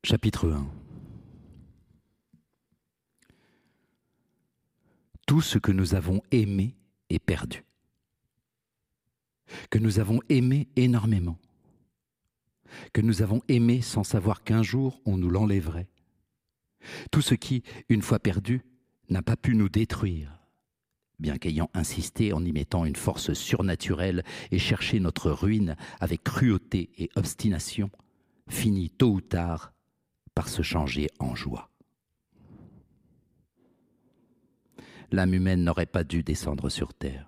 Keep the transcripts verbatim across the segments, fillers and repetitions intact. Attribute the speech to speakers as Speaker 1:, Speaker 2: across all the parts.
Speaker 1: Chapitre un. Tout ce que nous avons aimé est perdu. Que nous avons aimé énormément. Que nous avons aimé sans savoir qu'un jour on nous l'enlèverait. Tout ce qui, une fois perdu, n'a pas pu nous détruire, bien qu'ayant insisté en y mettant une force surnaturelle et cherché notre ruine avec cruauté et obstination, finit tôt ou tard par se changer en joie. L'âme humaine n'aurait pas dû descendre sur terre.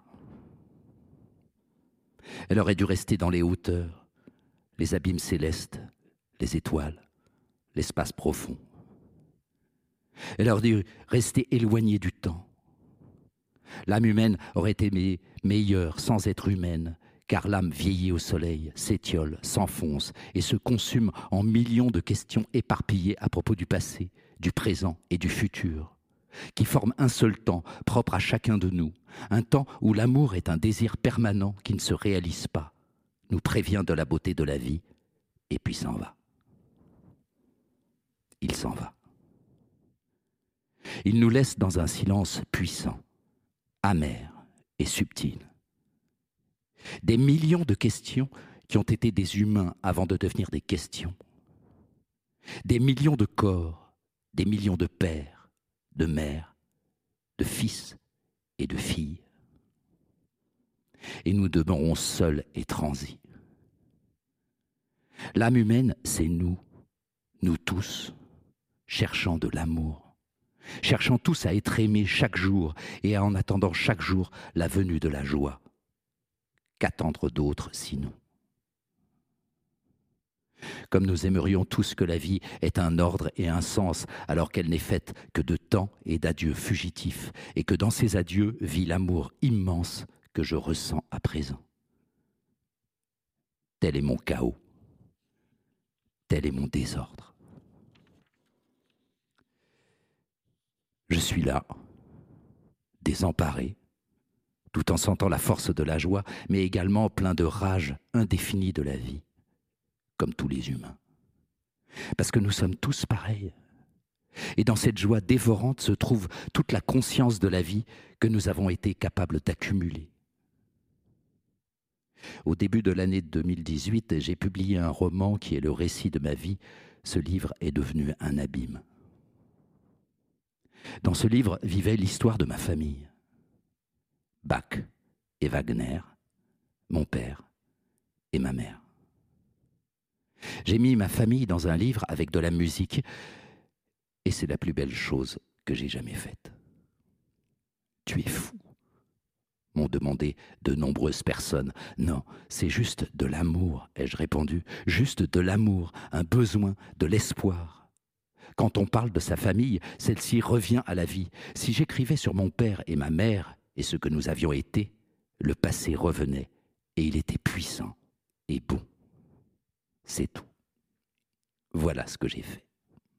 Speaker 1: Elle aurait dû rester dans les hauteurs, les abîmes célestes, les étoiles, l'espace profond. Elle aurait dû rester éloignée du temps. L'âme humaine aurait été meilleure sans être humaine, car l'âme vieillit au soleil, s'étiole, s'enfonce et se consume en millions de questions éparpillées à propos du passé, du présent et du futur, qui forment un seul temps propre à chacun de nous, un temps où l'amour est un désir permanent qui ne se réalise pas, nous prévient de la beauté de la vie, et puis s'en va. Il s'en va. Il nous laisse dans un silence puissant, amer et subtil. Des millions de questions qui ont été des humains avant de devenir des questions. Des millions de corps, des millions de pères, de mères, de fils et de filles. Et nous demeurons seuls et transis. L'âme humaine, c'est nous, nous tous, cherchant de l'amour, cherchant tous à être aimés chaque jour et en attendant chaque jour la venue de la joie. Qu'attendre d'autre sinon? Comme nous aimerions tous que la vie ait un ordre et un sens, alors qu'elle n'est faite que de temps et d'adieux fugitifs, et que dans ces adieux vit l'amour immense que je ressens à présent. Tel est mon chaos, tel est mon désordre. Je suis là, désemparé, tout en sentant la force de la joie, mais également plein de rage indéfinie de la vie, comme tous les humains. Parce que nous sommes tous pareils. Et dans cette joie dévorante se trouve toute la conscience de la vie que nous avons été capables d'accumuler. Au début de l'année deux mille dix-huit, j'ai publié un roman qui est le récit de ma vie. Ce livre est devenu un abîme. Dans ce livre vivait l'histoire de ma famille. Bach et Wagner, mon père et ma mère. J'ai mis ma famille dans un livre avec de la musique et c'est la plus belle chose que j'ai jamais faite. Tu es fou, m'ont demandé de nombreuses personnes. Non, c'est juste de l'amour, ai-je répondu. Juste de l'amour, un besoin, de l'espoir. Quand on parle de sa famille, celle-ci revient à la vie. Si j'écrivais sur mon père et ma mère et ce que nous avions été, le passé revenait et il était puissant et bon. C'est tout. Voilà ce que j'ai fait.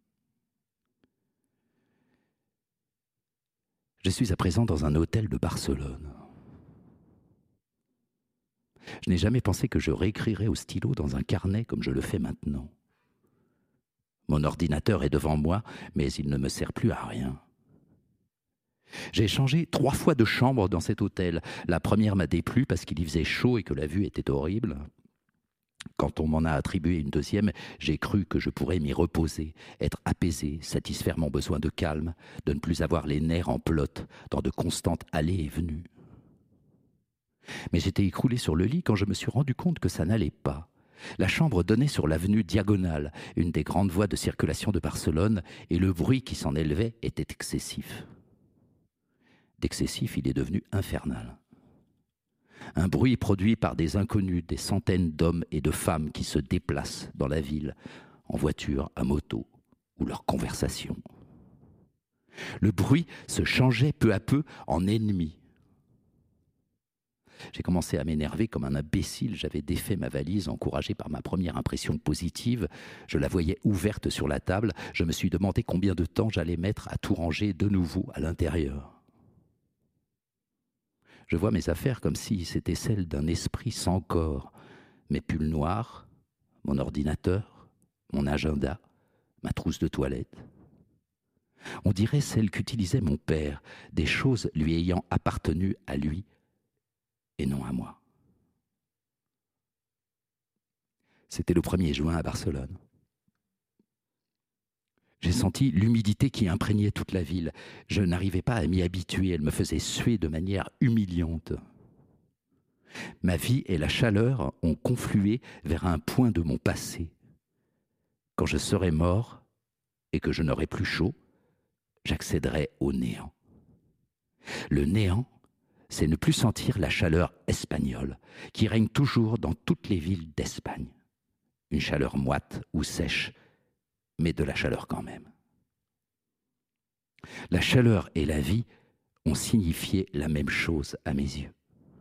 Speaker 1: Je suis à présent dans un hôtel de Barcelone. Je n'ai jamais pensé que je réécrirais au stylo dans un carnet comme je le fais maintenant. Mon ordinateur est devant moi, mais il ne me sert plus à rien. J'ai changé trois fois de chambre dans cet hôtel. La première m'a déplu parce qu'il y faisait chaud et que la vue était horrible. Quand on m'en a attribué une deuxième, j'ai cru que je pourrais m'y reposer, être apaisé, satisfaire mon besoin de calme, de ne plus avoir les nerfs en pelote dans de constantes allées et venues. Mais j'étais écroulé sur le lit quand je me suis rendu compte que ça n'allait pas. La chambre donnait sur l'avenue Diagonale, une des grandes voies de circulation de Barcelone, et le bruit qui s'en élevait était excessif. D'excessif, il est devenu infernal. Un bruit produit par des inconnus, des centaines d'hommes et de femmes qui se déplacent dans la ville, en voiture, à moto, ou leur conversation. Le bruit se changeait peu à peu en ennemi. J'ai commencé à m'énerver comme un imbécile. J'avais défait ma valise, encouragé par ma première impression positive. Je la voyais ouverte sur la table. Je me suis demandé combien de temps j'allais mettre à tout ranger de nouveau à l'intérieur. Je vois mes affaires comme si c'était celles d'un esprit sans corps. Mes pulls noirs, mon ordinateur, mon agenda, ma trousse de toilette. On dirait celle qu'utilisait mon père, des choses lui ayant appartenu à lui et non à moi. C'était le premier juin à Barcelone. J'ai senti l'humidité qui imprégnait toute la ville. Je n'arrivais pas à m'y habituer, elle me faisait suer de manière humiliante. Ma vie et la chaleur ont conflué vers un point de mon passé. Quand je serai mort et que je n'aurai plus chaud, j'accéderai au néant. Le néant, c'est ne plus sentir la chaleur espagnole qui règne toujours dans toutes les villes d'Espagne. Une chaleur moite ou sèche, mais de la chaleur quand même. La chaleur et la vie ont signifié la même chose à mes yeux.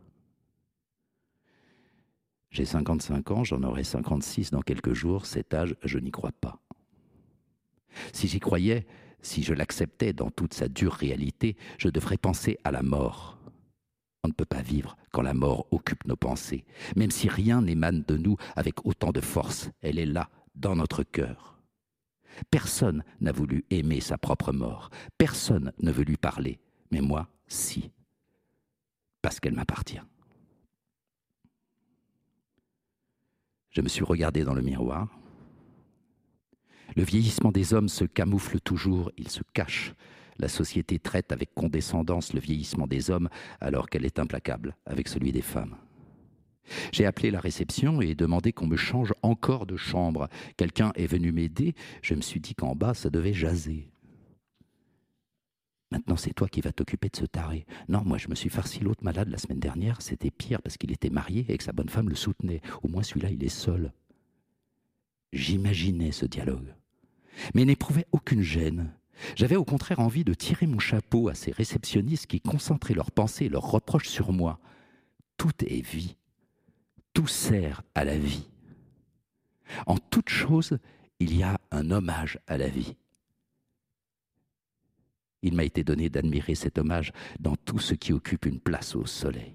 Speaker 1: J'ai cinquante-cinq ans, j'en aurai cinquante-six dans quelques jours. Cet âge, je n'y crois pas. Si j'y croyais, si je l'acceptais dans toute sa dure réalité, je devrais penser à la mort. On ne peut pas vivre quand la mort occupe nos pensées. Même si rien n'émane de nous avec autant de force, elle est là, dans notre cœur. Personne n'a voulu aimer sa propre mort. Personne ne veut lui parler. Mais moi, si. Parce qu'elle m'appartient. Je me suis regardé dans le miroir. Le vieillissement des hommes se camoufle toujours, il se cache. La société traite avec condescendance le vieillissement des hommes alors qu'elle est implacable avec celui des femmes. J'ai appelé la réception et demandé qu'on me change encore de chambre. Quelqu'un est venu m'aider. Je me suis dit qu'en bas, ça devait jaser. Maintenant, c'est toi qui vas t'occuper de ce taré. Non, moi, je me suis farci l'autre malade la semaine dernière. C'était pire parce qu'il était marié et que sa bonne femme le soutenait. Au moins, celui-là, il est seul. J'imaginais ce dialogue, mais n'éprouvais aucune gêne. J'avais au contraire envie de tirer mon chapeau à ces réceptionnistes qui concentraient leurs pensées et leurs reproches sur moi. Tout est vie. Tout sert à la vie. En toute chose, il y a un hommage à la vie. Il m'a été donné d'admirer cet hommage dans tout ce qui occupe une place au soleil.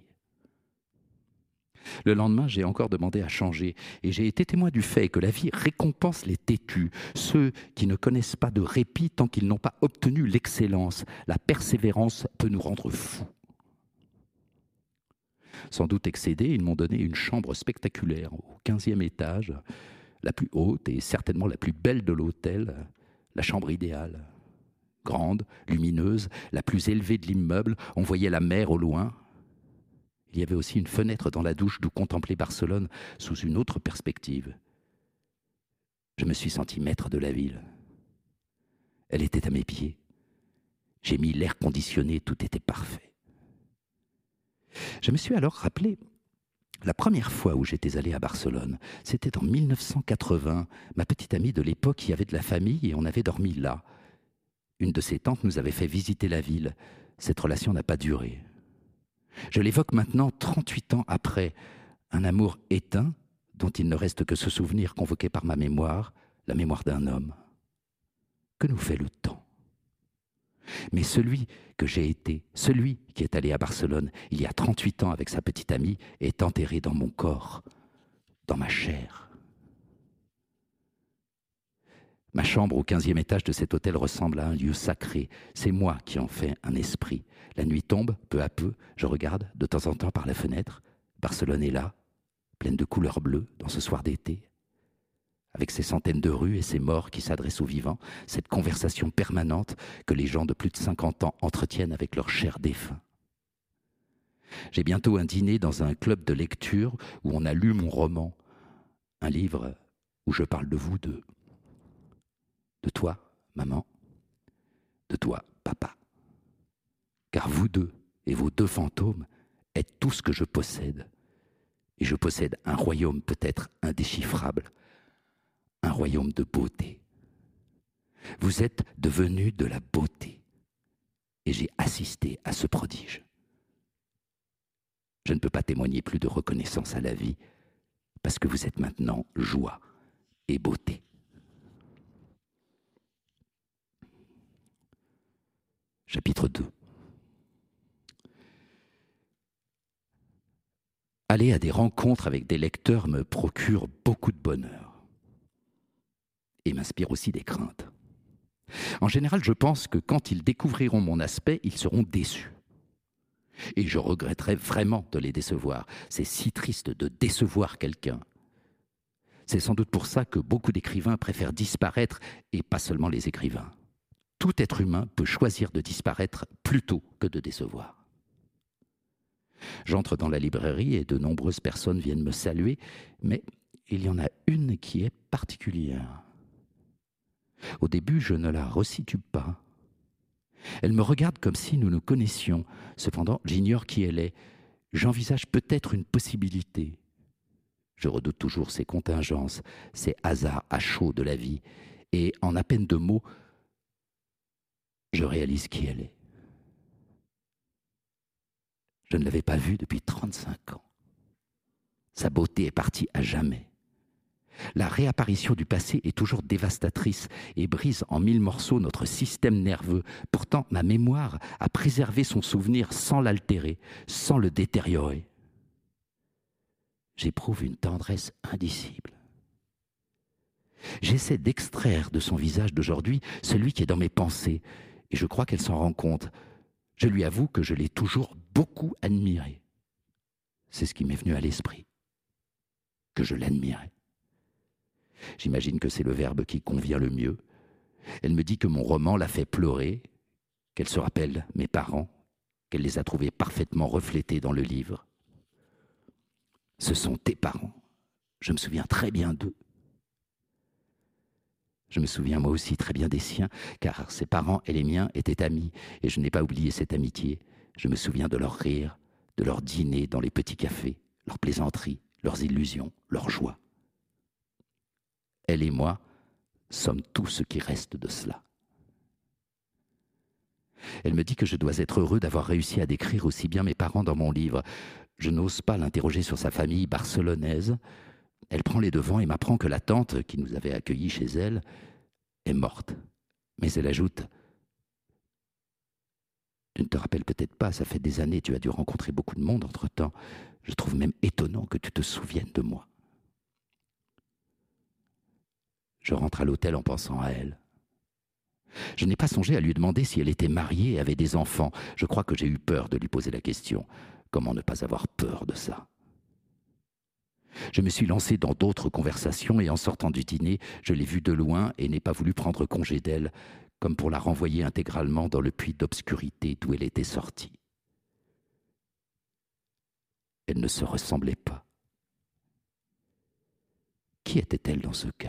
Speaker 1: Le lendemain, j'ai encore demandé à changer et j'ai été témoin du fait que la vie récompense les têtus, ceux qui ne connaissent pas de répit tant qu'ils n'ont pas obtenu l'excellence. La persévérance peut nous rendre fous. Sans doute excédés, ils m'ont donné une chambre spectaculaire au quinzième étage, la plus haute et certainement la plus belle de l'hôtel, la chambre idéale. Grande, lumineuse, la plus élevée de l'immeuble, on voyait la mer au loin. Il y avait aussi une fenêtre dans la douche d'où contempler Barcelone sous une autre perspective. Je me suis senti maître de la ville. Elle était à mes pieds. J'ai mis l'air conditionné, tout était parfait. Je me suis alors rappelé la première fois où j'étais allé à Barcelone. C'était en mille neuf cent quatre-vingts. Ma petite amie de l'époque y avait de la famille et on avait dormi là. Une de ses tantes nous avait fait visiter la ville. Cette relation n'a pas duré. Je l'évoque maintenant, trente-huit ans après, un amour éteint dont il ne reste que ce souvenir convoqué par ma mémoire, la mémoire d'un homme. Que nous fait le temps ? Mais celui que j'ai été, celui qui est allé à Barcelone il y a trente-huit ans avec sa petite amie, est enterré dans mon corps, dans ma chair. Ma chambre au quinzième étage de cet hôtel ressemble à un lieu sacré. C'est moi qui en fais un esprit. La nuit tombe, peu à peu, je regarde de temps en temps par la fenêtre. Barcelone est là, pleine de couleurs bleues dans ce soir d'été, avec ses centaines de rues et ses morts qui s'adressent aux vivants, cette conversation permanente que les gens de plus de cinquante ans entretiennent avec leurs chers défunts. J'ai bientôt un dîner dans un club de lecture où on a lu mon roman, un livre où je parle de vous deux. De toi, maman, de toi, papa. Car vous deux et vos deux fantômes êtes tout ce que je possède. Et je possède un royaume peut-être indéchiffrable, un royaume de beauté. Vous êtes devenus de la beauté. Et j'ai assisté à ce prodige. Je ne peux pas témoigner plus de reconnaissance à la vie, parce que vous êtes maintenant joie et beauté. Chapitre deux. Aller à des rencontres avec des lecteurs me procure beaucoup de bonheur. Et m'inspire aussi des craintes. En général, je pense que quand ils découvriront mon aspect, ils seront déçus. Et je regretterais vraiment de les décevoir. C'est si triste de décevoir quelqu'un. C'est sans doute pour ça que beaucoup d'écrivains préfèrent disparaître, et pas seulement les écrivains. Tout être humain peut choisir de disparaître plutôt que de décevoir. J'entre dans la librairie et de nombreuses personnes viennent me saluer, mais il y en a une qui est particulière. Au début, je ne la resitue pas. Elle me regarde comme si nous nous connaissions. Cependant, j'ignore qui elle est. J'envisage peut-être une possibilité. Je redoute toujours ces contingences, ces hasards à chaud de la vie. Et en à peine deux mots, je réalise qui elle est. Je ne l'avais pas vue depuis trente-cinq ans. Sa beauté est partie à jamais. La réapparition du passé est toujours dévastatrice et brise en mille morceaux notre système nerveux. Pourtant, ma mémoire a préservé son souvenir sans l'altérer, sans le détériorer. J'éprouve une tendresse indicible. J'essaie d'extraire de son visage d'aujourd'hui celui qui est dans mes pensées, et je crois qu'elle s'en rend compte. Je lui avoue que je l'ai toujours beaucoup admirée. C'est ce qui m'est venu à l'esprit, que je l'admirais. J'imagine que c'est le verbe qui convient le mieux. Elle me dit que mon roman l'a fait pleurer, qu'elle se rappelle mes parents, qu'elle les a trouvés parfaitement reflétés dans le livre. Ce sont tes parents. Je me souviens très bien d'eux. Je me souviens moi aussi très bien des siens, car ses parents et les miens étaient amis, et je n'ai pas oublié cette amitié. Je me souviens de leurs rires, de leurs dîners dans les petits cafés, leurs plaisanteries, leurs illusions, leurs joies. Elle et moi sommes tout ce qui reste de cela. Elle me dit que je dois être heureux d'avoir réussi à décrire aussi bien mes parents dans mon livre. Je n'ose pas l'interroger sur sa famille barcelonaise. Elle prend les devants et m'apprend que la tante qui nous avait accueillis chez elle est morte. Mais elle ajoute « Tu ne te rappelles peut-être pas, ça fait des années, tu as dû rencontrer beaucoup de monde entre-temps. Je trouve même étonnant que tu te souviennes de moi. » Je rentre à l'hôtel en pensant à elle. Je n'ai pas songé à lui demander si elle était mariée et avait des enfants. Je crois que j'ai eu peur de lui poser la question. Comment ne pas avoir peur de ça ? Je me suis lancé dans d'autres conversations et en sortant du dîner, je l'ai vue de loin et n'ai pas voulu prendre congé d'elle, comme pour la renvoyer intégralement dans le puits d'obscurité d'où elle était sortie. Elle ne se ressemblait pas. Qui était-elle dans ce cas ?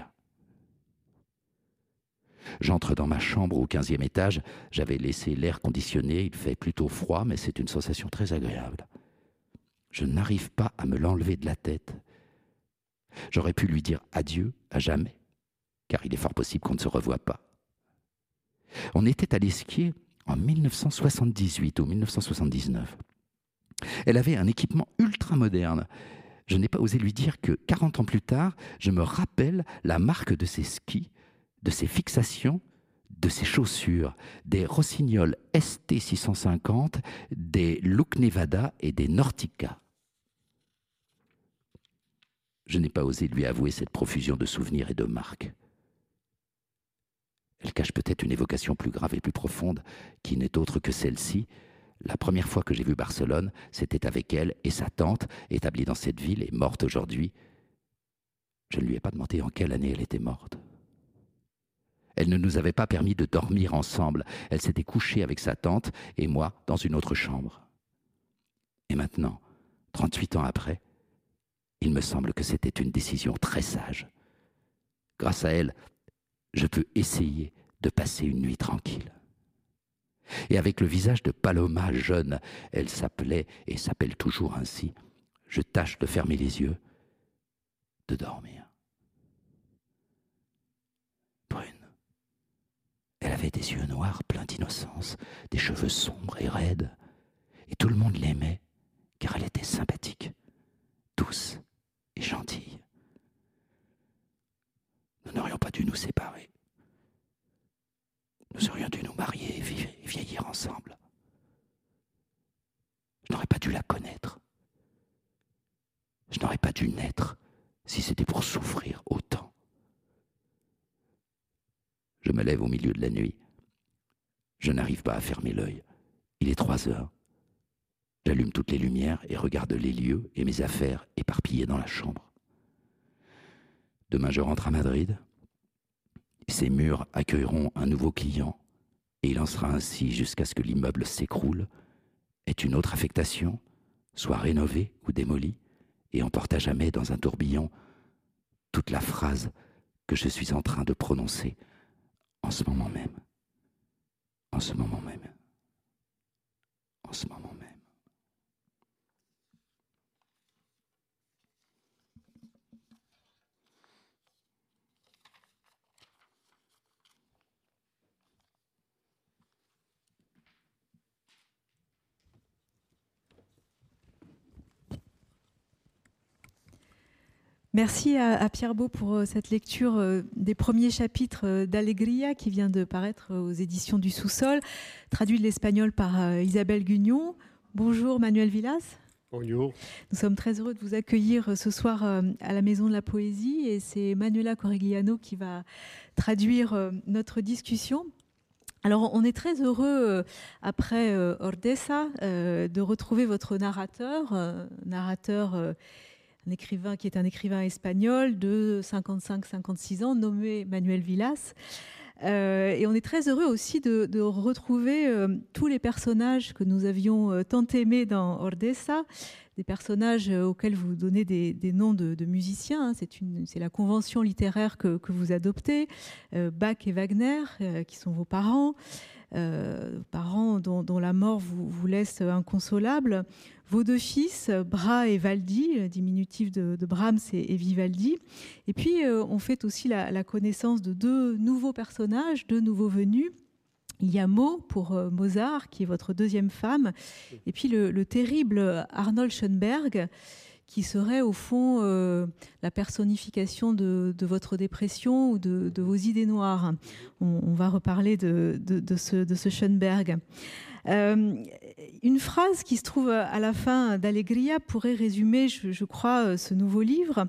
Speaker 1: J'entre dans ma chambre au quinzième étage. J'avais laissé l'air conditionné. Il fait plutôt froid, mais c'est une sensation très agréable. Je n'arrive pas à me l'enlever de la tête. J'aurais pu lui dire adieu à jamais, car il est fort possible qu'on ne se revoie pas. On était à l'Esquier en mille neuf cent soixante-dix-huit ou mille neuf cent soixante-dix-neuf. Elle avait un équipement ultra moderne. Je n'ai pas osé lui dire que quarante ans plus tard, je me rappelle la marque de ses skis, de ses fixations, de ses chaussures, des Rossignol S T six cent cinquante, des Look Nevada et des Nortica. Je n'ai pas osé lui avouer cette profusion de souvenirs et de marques. Elle cache peut-être une évocation plus grave et plus profonde, qui n'est autre que celle-ci. La première fois que j'ai vu Barcelone, c'était avec elle et sa tante, établie dans cette ville et morte aujourd'hui. Je ne lui ai pas demandé en quelle année elle était morte. Elle ne nous avait pas permis de dormir ensemble. Elle s'était couchée avec sa tante et moi dans une autre chambre. Et maintenant, trente-huit ans après, il me semble que c'était une décision très sage. Grâce à elle, je peux essayer de passer une nuit tranquille. Et avec le visage de Paloma jeune, elle s'appelait et s'appelle toujours ainsi. Je tâche de fermer les yeux, de dormir. Brune. Elle avait des yeux noirs pleins d'innocence, des cheveux sombres et raides. Et tout le monde l'aimait, car elle était sympathique, douce et gentille. Nous n'aurions pas dû nous séparer. Nous aurions dû nous marier et vieillir ensemble. Je n'aurais pas dû la connaître. Je n'aurais pas dû naître si c'était pour souffrir autant. Je me lève au milieu de la nuit. Je n'arrive pas à fermer l'œil. Il est trois heures. J'allume toutes les lumières et regarde les lieux et mes affaires éparpillées dans la chambre. Demain, je rentre à Madrid. Ces murs accueilleront un nouveau client et il en sera ainsi jusqu'à ce que l'immeuble s'écroule, ait une autre affectation, soit rénové ou démoli et emporte à jamais dans un tourbillon toute la phrase que je suis en train de prononcer en ce moment même. En ce moment même. En ce moment même.
Speaker 2: Merci à, à Pierre Beau pour euh, cette lecture euh, des premiers chapitres euh, d'Alegria qui vient de paraître euh, aux éditions du Sous-Sol, traduit de l'espagnol par euh, Isabelle Gugnon. Bonjour Manuel Villas.
Speaker 3: Bonjour.
Speaker 2: Nous sommes très heureux de vous accueillir euh, ce soir euh, à la Maison de la Poésie et c'est Manuela Corigliano qui va traduire euh, notre discussion. Alors, on est très heureux, euh, après euh, Ordesa, euh, de retrouver votre narrateur, euh, narrateur euh, un écrivain qui est un écrivain espagnol de cinquante-cinq à cinquante-six ans, nommé Manuel Villas. Euh, et on est très heureux aussi de, de retrouver euh, tous les personnages que nous avions euh, tant aimés dans Ordesa, des personnages euh, auxquels vous donnez des, des noms de, de musiciens. Hein. C'est, une, c'est la convention littéraire que, que vous adoptez, euh, Bach et Wagner, euh, qui sont vos parents. Euh, parents dont, dont la mort vous, vous laisse inconsolable, vos deux fils, Bra et Valdi, diminutif de, de Brahms et, et Vivaldi. Et puis, euh, on fait aussi la, la connaissance de deux nouveaux personnages, deux nouveaux venus. Il y a Mo pour euh, Mozart, qui est votre deuxième femme, et puis le, le terrible Arnold Schoenberg, qui serait au fond euh, la personnification de, de votre dépression ou de, de vos idées noires. On, on va reparler de, de, de, ce, de ce Schoenberg. Euh, une phrase qui se trouve à la fin d'Alegria pourrait résumer, je, je crois, ce nouveau livre.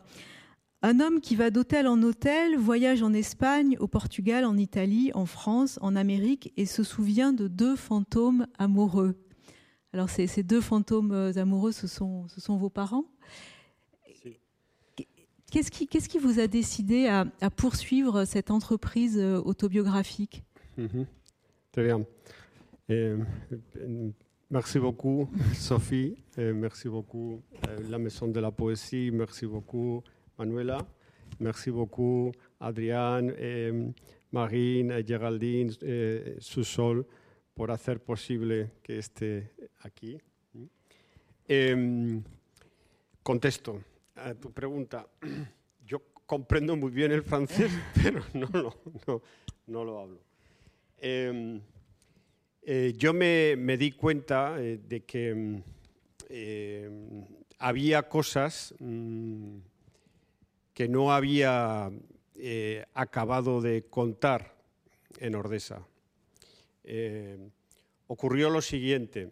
Speaker 2: Un homme qui va d'hôtel en hôtel, voyage en Espagne, au Portugal, en Italie, en France, en Amérique et se souvient de deux fantômes amoureux. Alors ces, ces deux fantômes amoureux, ce sont, ce sont vos parents. Qu'est-ce qui, qu'est-ce qui vous a décidé à, à poursuivre cette entreprise autobiographique?
Speaker 3: Mm-hmm. Très bien. Eh, merci beaucoup, Sophie. Eh, merci beaucoup, eh, la Maison de la Poésie. Merci beaucoup, Manuela. Merci beaucoup, Adrián, eh, Marine, eh, Geraldine, eh, Sous-Sol, por hacer posible que esté aquí. Eh, contesto a tu pregunta. Yo comprendo muy bien el francés, pero no lo, no, no lo hablo. Eh, eh, yo me, me di cuenta eh, de que eh, había cosas mm, que no había eh, acabado de contar en Ordesa. Eh, ocurrió lo siguiente.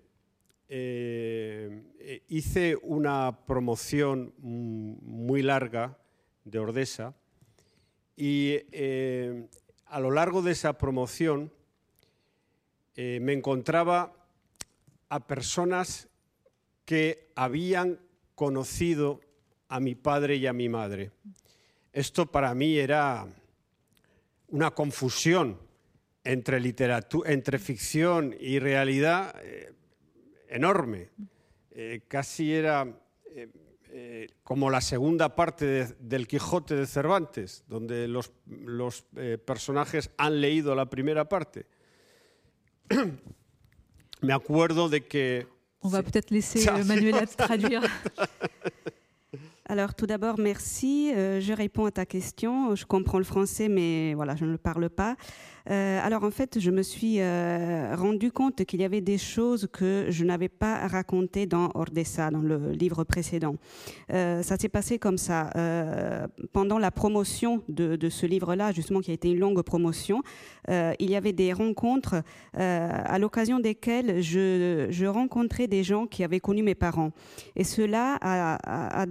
Speaker 3: Eh, hice una promoción muy larga de Ordesa y eh, a lo largo de esa promoción eh, me encontraba a personas que habían conocido a mi padre y a mi madre. Esto para mí era una confusión entre literatura, entre ficción y realidad eh, enorme. Eh, casi era eh, eh, como la segunda parte de, del Quijote de Cervantes, donde los, los eh, personajes han leído la primera parte. Me acuerdo de que...
Speaker 2: On va peut-être laisser Manuela traduire.
Speaker 4: Alors tout d'abord, merci. Euh, je réponds à ta question. Je comprends le français, mais voilà, je ne le parle pas. Euh, alors en fait, je me suis euh, rendu compte qu'il y avait des choses que je n'avais pas racontées dans Ordesa, dans le livre précédent. Euh, ça s'est passé comme ça. Euh, pendant la promotion de, de ce livre-là, justement, qui a été une longue promotion, euh, il y avait des rencontres euh, à l'occasion desquelles je, je rencontrais des gens qui avaient connu mes parents. Et cela a, a, a déterminé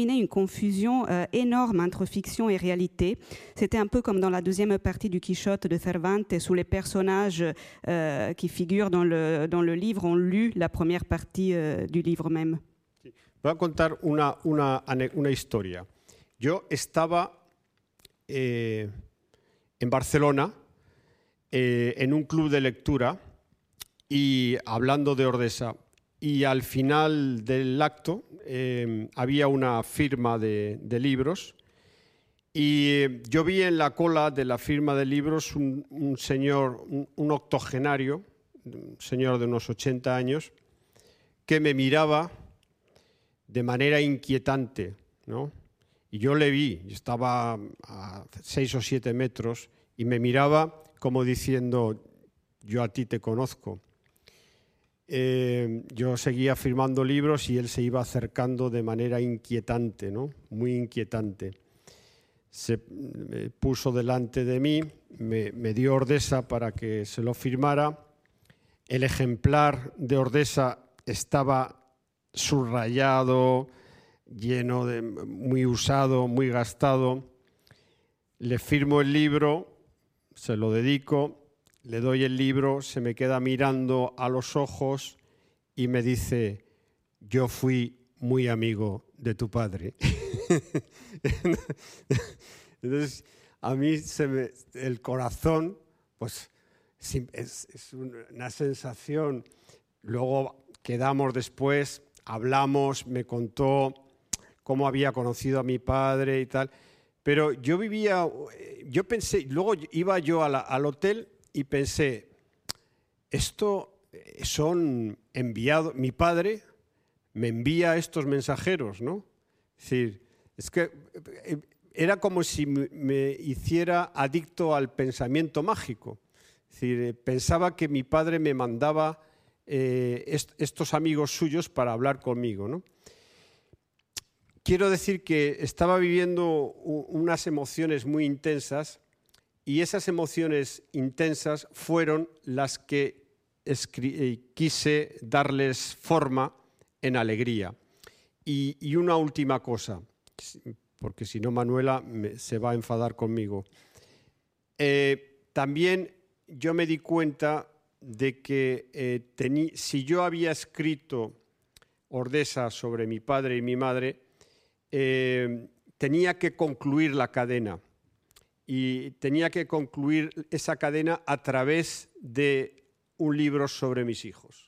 Speaker 4: imaginais une confusion euh, énorme entre fiction et réalité. C'était un peu comme dans la deuxième partie du Quichotte de Cervantes, où les personnages euh, qui figurent dans le, dans le livre ont lu la première partie euh, du livre même.
Speaker 3: Voy a contar una, una, una historia. Yo estaba eh, en Barcelona eh, en un club de lectura y hablando de Ordesa. Y al final del acto eh, había una firma de, de libros y eh, yo vi en la cola de la firma de libros un, un señor, un, un octogenario, un señor de unos ochenta años, que me miraba de manera inquietante, ¿no? Y yo le vi, estaba a seis o siete metros y me miraba como diciendo, yo a ti te conozco. Eh, yo seguía firmando libros y él se iba acercando de manera inquietante, ¿no? Muy inquietante. Se me puso delante de mí, me, me dio Ordesa para que se lo firmara. El ejemplar de Ordesa estaba subrayado, lleno de, muy usado, muy gastado. Le firmo el libro, se lo dedico. Le doy el libro, se me queda mirando a los ojos y me dice, yo fui muy amigo de tu padre. Entonces, a mí se me, el corazón, pues es, es una sensación. Luego quedamos después, hablamos, me contó cómo había conocido a mi padre y tal. Pero yo vivía, yo pensé, luego iba yo a la, al hotel y pensé, esto son enviados, mi padre me envía estos mensajeros, ¿no? Es decir, es que era como si me hiciera adicto al pensamiento mágico. Es decir, pensaba que mi padre me mandaba eh, est estos amigos suyos para hablar conmigo, ¿no? Quiero decir que estaba viviendo unas emociones muy intensas y esas emociones intensas fueron las que quise darles forma en alegría. Y, y una última cosa, porque si no Manuela me, se va a enfadar conmigo. Eh, también yo me di cuenta de que eh, tení, si yo había escrito Ordesa sobre mi padre y mi madre, eh, tenía que concluir la cadena. Y tenía que concluir esa cadena a través de un libro sobre mis hijos.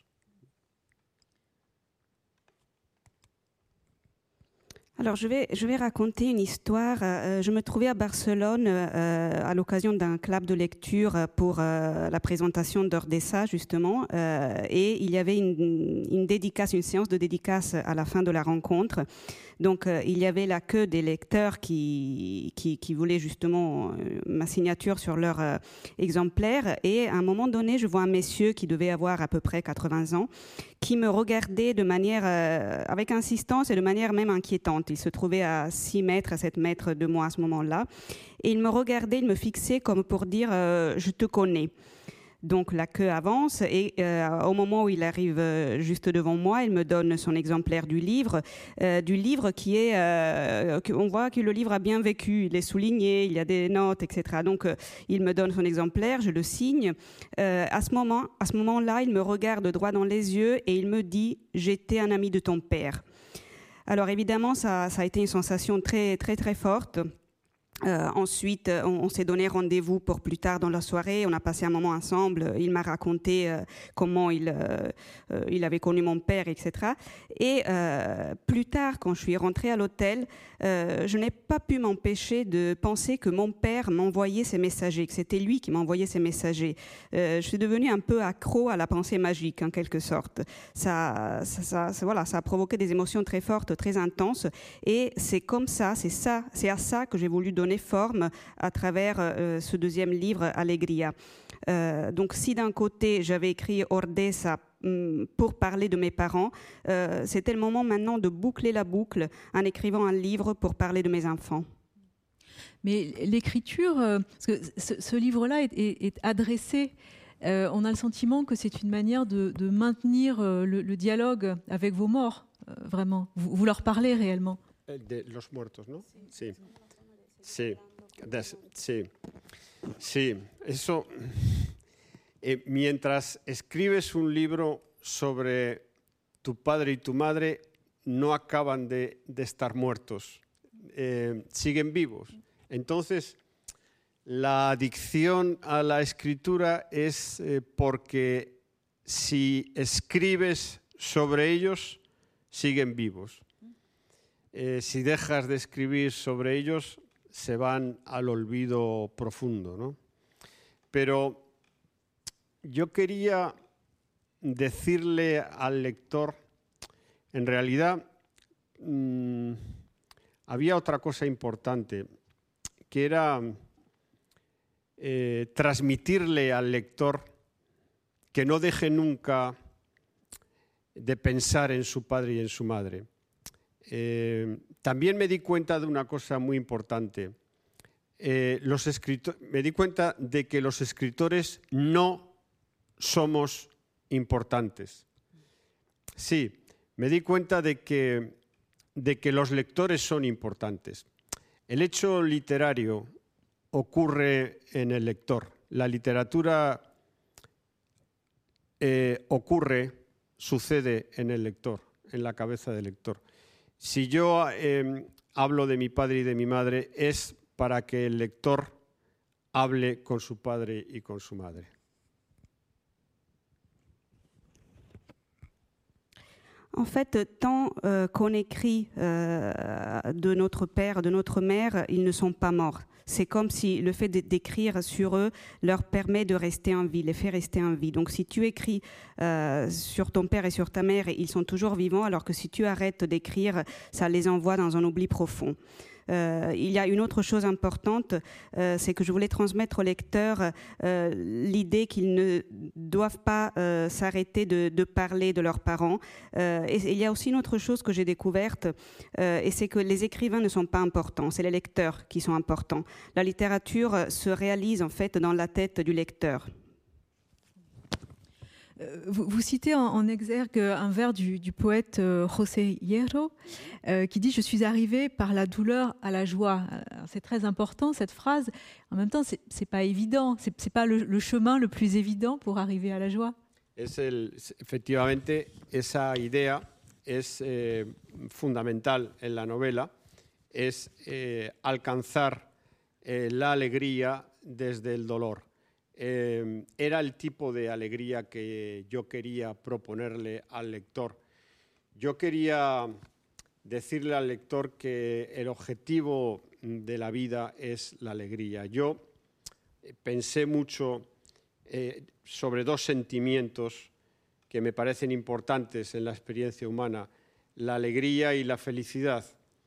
Speaker 4: Alors, je vais, je vais raconter une histoire. Euh, je me trouvais à Barcelone euh, à l'occasion d'un club de lecture pour euh, la présentation d'Ordesa, justement. Euh, et il y avait une, une dédicace, une séance de dédicace à la fin de la rencontre. Donc, euh, il y avait la queue des lecteurs qui, qui, qui voulaient justement euh, ma signature sur leur euh, exemplaire. Et à un moment donné, je vois un monsieur qui devait avoir à peu près quatre-vingts ans, qui me regardait de manière, euh, avec insistance et de manière même inquiétante. Il se trouvait à six mètres, à sept mètres de moi à ce moment-là. Et il me regardait, il me fixait comme pour dire euh, « je te connais ». Donc la queue avance et euh, au moment où il arrive euh, juste devant moi, il me donne son exemplaire du livre, euh, du livre qui est, euh, on voit que le livre a bien vécu, il est souligné, il y a des notes, et cetera. Donc euh, il me donne son exemplaire, je le signe. Euh, à ce moment, à ce moment-là, il me regarde droit dans les yeux et il me dit « j'étais un ami de ton père ». Alors évidemment, ça, ça a été une sensation très très très forte. Euh, ensuite, on, on s'est donné rendez-vous pour plus tard dans la soirée. On a passé un moment ensemble. Il m'a raconté euh, comment il, euh, euh, il avait connu mon père, et cetera. Et euh, plus tard, quand je suis rentrée à l'hôtel, euh, je n'ai pas pu m'empêcher de penser que mon père m'envoyait ses messagers, que c'était lui qui m'envoyait ses messagers. Euh, je suis devenue un peu accro à la pensée magique, en quelque sorte. Ça, ça, ça, ça, voilà, ça a provoqué des émotions très fortes, très intenses. Et c'est comme ça, c'est ça, c'est à ça que j'ai voulu donner forme à travers euh, ce deuxième livre, Alegria. Euh, donc si d'un côté j'avais écrit Ordesa hum, pour parler de mes parents, euh, c'était le moment maintenant de boucler la boucle en écrivant un livre pour parler de mes enfants.
Speaker 2: Mais l'écriture, euh, parce que ce, ce livre-là est, est, est adressé, euh, on a le sentiment que c'est une manière de, de maintenir euh, le, le dialogue avec vos morts, euh, vraiment. Vous, vous leur parlez réellement.
Speaker 3: de los muertos, ¿no? Sí. Sí. Sí. Sí. Sí. Eso. Eh, mientras escribes un libro sobre tu padre y tu madre, no acaban de, de estar muertos, eh, siguen vivos. Entonces, la adicción a la escritura es eh, porque si escribes sobre ellos, siguen vivos. Eh, si dejas de escribir sobre ellos, se van al olvido profundo, ¿no? Pero yo quería decirle al lector, en realidad, mmm, había otra cosa importante, que era eh, transmitirle al lector que no deje nunca de pensar en su padre y en su madre. Eh, también me di cuenta de una cosa muy importante. Eh, los escritor- me di cuenta de que los escritores no somos importantes. Sí, me di cuenta de que, de que los lectores son importantes. El hecho literario ocurre en el lector. La literatura eh, ocurre, sucede en el lector, en la cabeza del lector. Si yo eh, hablo de mi padre y de mi madre, es para que el lector hable con su padre y con su madre.
Speaker 4: En fait, tant euh, qu'on écrit euh, de notre père, de notre mère, ils ne sont pas morts. C'est comme si le fait d'écrire sur eux leur permet de rester en vie, les fait rester en vie. Donc si tu écris euh, sur ton père et sur ta mère, ils sont toujours vivants, alors que si tu arrêtes d'écrire, ça les envoie dans un oubli profond. Euh, il y a une autre chose importante, euh, c'est que je voulais transmettre aux lecteurs euh, l'idée qu'ils ne doivent pas euh, s'arrêter de, de parler de leurs parents. Euh, et il y a aussi une autre chose que j'ai découverte, euh, et c'est que les écrivains ne sont pas importants, c'est les lecteurs qui sont importants. La littérature se réalise en fait dans la tête du lecteur.
Speaker 2: Vous, vous citez en, en exergue un vers du, du poète euh, José Hierro euh, qui dit « Je suis arrivé par la douleur à la joie ». C'est très important cette phrase. En même temps, ce n'est pas évident. Ce n'est pas le, le chemin le plus évident pour arriver à la joie.
Speaker 3: Es el, efectivamente, esa idea es eh, fundamental en la novela, es eh, alcanzar eh, la alegría desde el dolor. Eh, era el tipo de alegría que yo quería proponerle al lector. Yo quería decirle al lector que el objetivo de la vida es la alegría. Yo pensé mucho eh, sobre dos sentimientos que me parecen importantes en la experiencia humana, la alegría y la felicidad,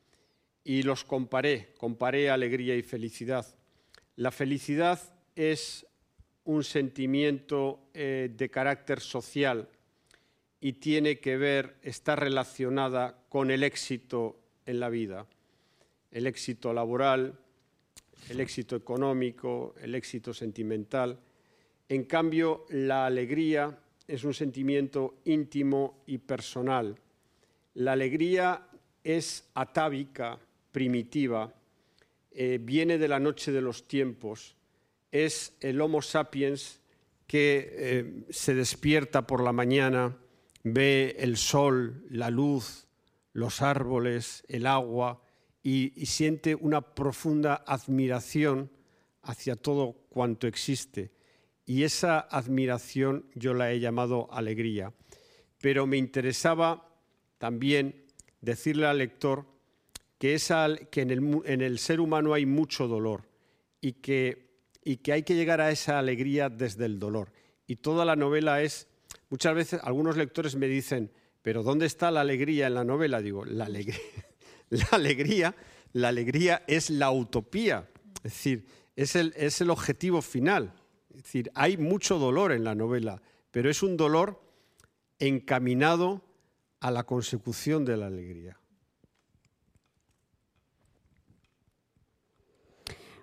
Speaker 3: y los comparé, comparé alegría y felicidad. La felicidad es un sentimiento eh, de carácter social y tiene que ver, está relacionada con el éxito en la vida, el éxito laboral, el éxito económico, el éxito sentimental. En cambio, la alegría es un sentimiento íntimo y personal. La alegría es atávica, primitiva, eh, viene de la noche de los tiempos. Es el Homo sapiens que eh, se despierta por la mañana, ve el sol, la luz, los árboles, el agua y, y siente una profunda admiración hacia todo cuanto existe. Y esa admiración yo la he llamado alegría. Pero me interesaba también decirle al lector que, esa, que en, el, en el ser humano hay mucho dolor y que y que hay que llegar a esa alegría desde el dolor. Y toda la novela es, muchas veces algunos lectores me dicen, pero ¿dónde está la alegría en la novela? Digo, la alegría, la alegría, la alegría es la utopía, es decir, es el, es el objetivo final. Es decir, hay mucho dolor en la novela, pero es un dolor encaminado a la consecución de la alegría.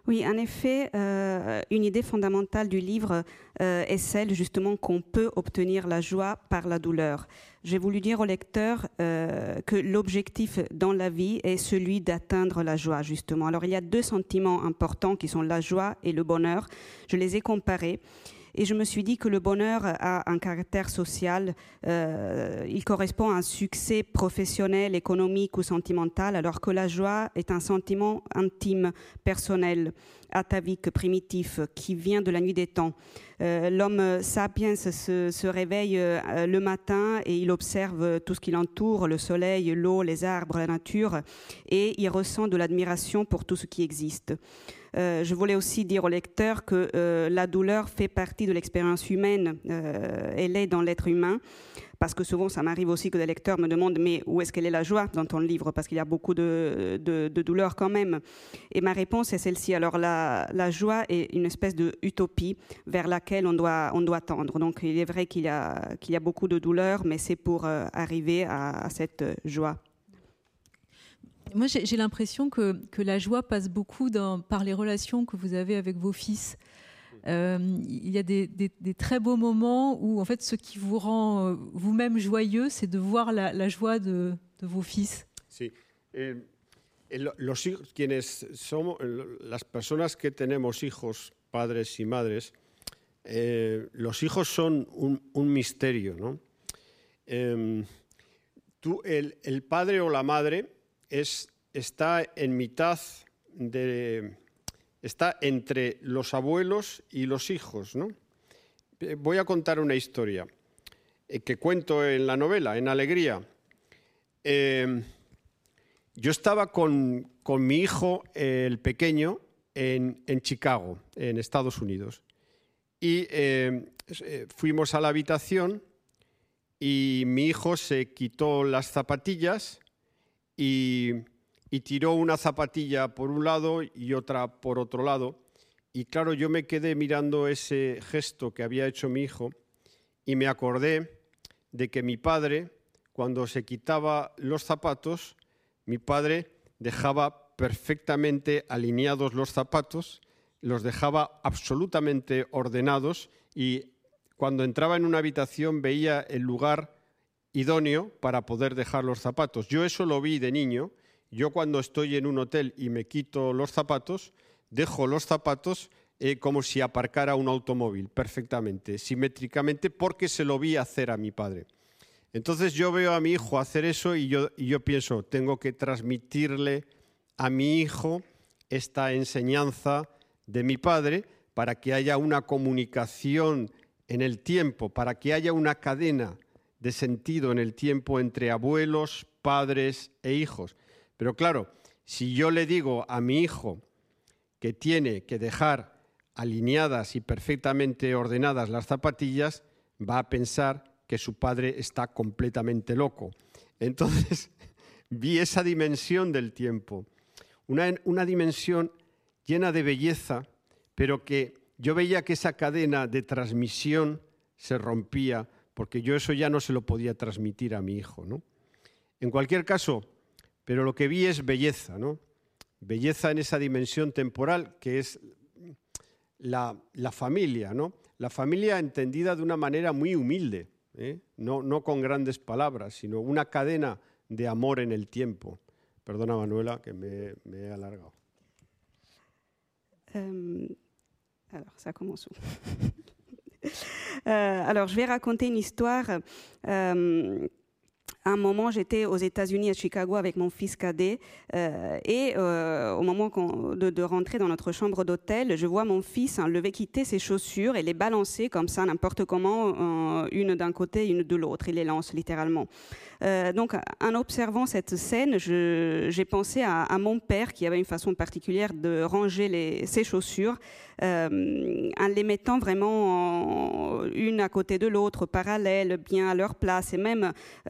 Speaker 4: Oui, en effet, euh, une idée fondamentale du livre euh, est celle justement qu'on peut obtenir la joie par la douleur. J'ai voulu dire au lecteur euh, que l'objectif dans la vie est celui d'atteindre la joie, justement. Alors, il y a deux sentiments importants qui sont la joie et le bonheur. Je les ai comparés. Et je me suis dit que le bonheur a un caractère social, euh, il correspond à un succès professionnel, économique ou sentimental, alors que la joie est un sentiment intime, personnel, atavique, primitif, qui vient de la nuit des temps. Euh, l'homme sapiens se, se réveille euh, le matin et il observe tout ce qui l'entoure, le soleil, l'eau, les arbres, la nature, et il ressent de l'admiration pour tout ce qui existe. Euh, je voulais aussi dire au lecteur que euh, la douleur fait partie de l'expérience humaine, euh, elle est dans l'être humain, parce que souvent ça m'arrive aussi que des lecteurs me demandent mais où est-ce qu'elle est la joie dans ton livre, parce qu'il y a beaucoup de, de, de douleur quand même. Et ma réponse est celle-ci. Alors la, la joie est une espèce d'utopie vers laquelle on doit, on doit tendre. Donc il est vrai qu'il y a, qu'il y a beaucoup de douleur, mais c'est pour euh, arriver à, à cette joie.
Speaker 2: Moi, j'ai, j'ai l'impression que, que la joie passe beaucoup dans, par les relations que vous avez avec vos fils. Euh, il y a des, des, des très beaux moments où, en fait, ce qui vous rend euh, vous-même joyeux, c'est de voir la, la joie de, de vos fils.
Speaker 3: Sí. Eh, los, quienes somos, las personas que tenemos hijos, padres y madres, eh, los hijos son un, un misterio, ¿no? Eh, tú, el, el padre o la madre Es, está en mitad de, está entre los abuelos y los hijos, ¿no? Voy a contar una historia eh, que cuento en la novela, en Alegría. Eh, yo estaba con, con mi hijo, eh, el pequeño, en, en Chicago, en Estados Unidos. Y eh, fuimos a la habitación y mi hijo se quitó las zapatillas Y, y tiró una zapatilla por un lado y otra por otro lado. Y claro, yo me quedé mirando ese gesto que había hecho mi hijo y me acordé de que mi padre, cuando se quitaba los zapatos, mi padre dejaba perfectamente alineados los zapatos, los dejaba absolutamente ordenados y cuando entraba en una habitación veía el lugar idóneo para poder dejar los zapatos. Yo eso lo vi de niño. Yo cuando estoy en un hotel y me quito los zapatos, dejo los zapatos eh, como si aparcara un automóvil, perfectamente, simétricamente, porque se lo vi hacer a mi padre. Entonces yo veo a mi hijo hacer eso y yo, y yo pienso, tengo que transmitirle a mi hijo esta enseñanza de mi padre para que haya una comunicación en el tiempo, para que haya una cadena de sentido en el tiempo entre abuelos, padres e hijos. Pero claro, si yo le digo a mi hijo que tiene que dejar alineadas y perfectamente ordenadas las zapatillas, va a pensar que su padre está completamente loco. Entonces, vi esa dimensión del tiempo, una, una dimensión llena de belleza, pero que yo veía que esa cadena de transmisión se rompía porque yo eso ya no se lo podía transmitir a mi hijo, ¿no? En cualquier caso, pero lo que vi es belleza, ¿no? Belleza en esa dimensión temporal que es la, la familia, ¿no? La familia entendida de una manera muy humilde, ¿eh? no, no con grandes palabras, sino una cadena de amor en el tiempo. Perdona, Manuela, que me, me he alargado.
Speaker 4: Euh, alors, ça commence où? Euh, alors, je vais raconter une histoire. Euh, à un moment, j'étais aux États-Unis, à Chicago, avec mon fils cadet. Euh, et euh, au moment de, de rentrer dans notre chambre d'hôtel, je vois mon fils enlever, quitter ses chaussures et les balancer comme ça, n'importe comment, euh, une d'un côté, une de l'autre. Il les lance littéralement. Euh, donc, en observant cette scène, je, j'ai pensé à, à mon père qui avait une façon particulière de ranger les, ses chaussures euh, en les mettant vraiment en, une à côté de l'autre, parallèles, bien à leur place. Et même euh, quand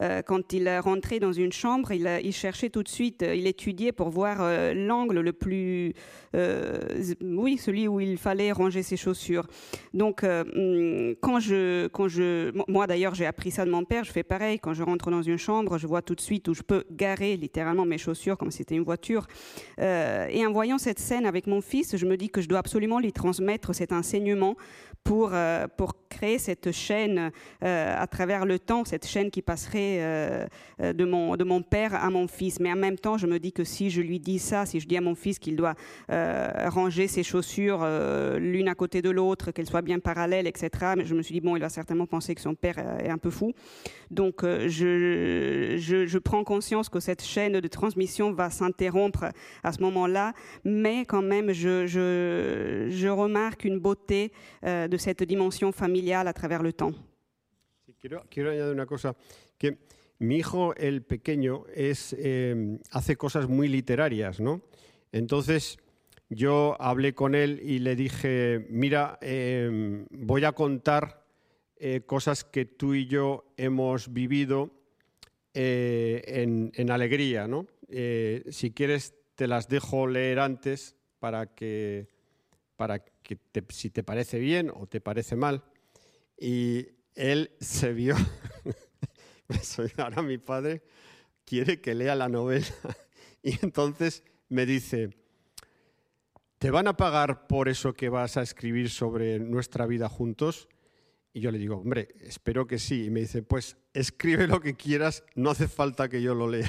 Speaker 4: quand il rentrait dans une chambre, il, il cherchait tout de suite, il étudiait pour voir euh, l'angle le plus, euh, oui, celui où il fallait ranger ses chaussures. Donc, euh, quand je, quand je, moi d'ailleurs, j'ai appris ça de mon père. Je fais pareil. Quand je rentre dans une chambre, je vois tout de suite où je peux garer littéralement mes chaussures comme si c'était une voiture. Euh, et en voyant cette scène avec mon fils, je me dis que je dois absolument lui transmettre cet enseignement pour euh, pour créer cette chaîne euh, à travers le temps, cette chaîne qui passerait euh, de mon de mon père à mon fils. Mais en même temps, je me dis que si je lui dis ça, si je dis à mon fils qu'il doit euh, ranger ses chaussures euh, l'une à côté de l'autre, qu'elles soient bien parallèles, et cetera. Mais je me suis dit bon, il va certainement penser que son père est un peu fou. Donc euh, je, je je prends conscience que cette chaîne de transmission va s'interrompre à ce moment-là, mais quand même je je je remarque une beauté euh, de cette dimension familiale à travers le temps.
Speaker 3: Sí, quiero, quiero añadir una cosa, que mi hijo, el pequeño, es, eh, hace cosas muy literarias, ¿no? Entonces, yo hablé con él y le dije, mira, eh, voy a contar eh, cosas que tú y yo hemos vivido eh, en, en alegría, ¿no? Eh, si quieres, te las dejo leer antes para que, para que te, si te parece bien o te parece mal. Y él se vio, ahora mi padre quiere que lea la novela y entonces me dice, ¿te van a pagar por eso que vas a escribir sobre nuestra vida juntos? Y yo le digo, hombre, espero que sí. Y me dice, pues escribe lo que quieras, no hace falta que yo lo lea.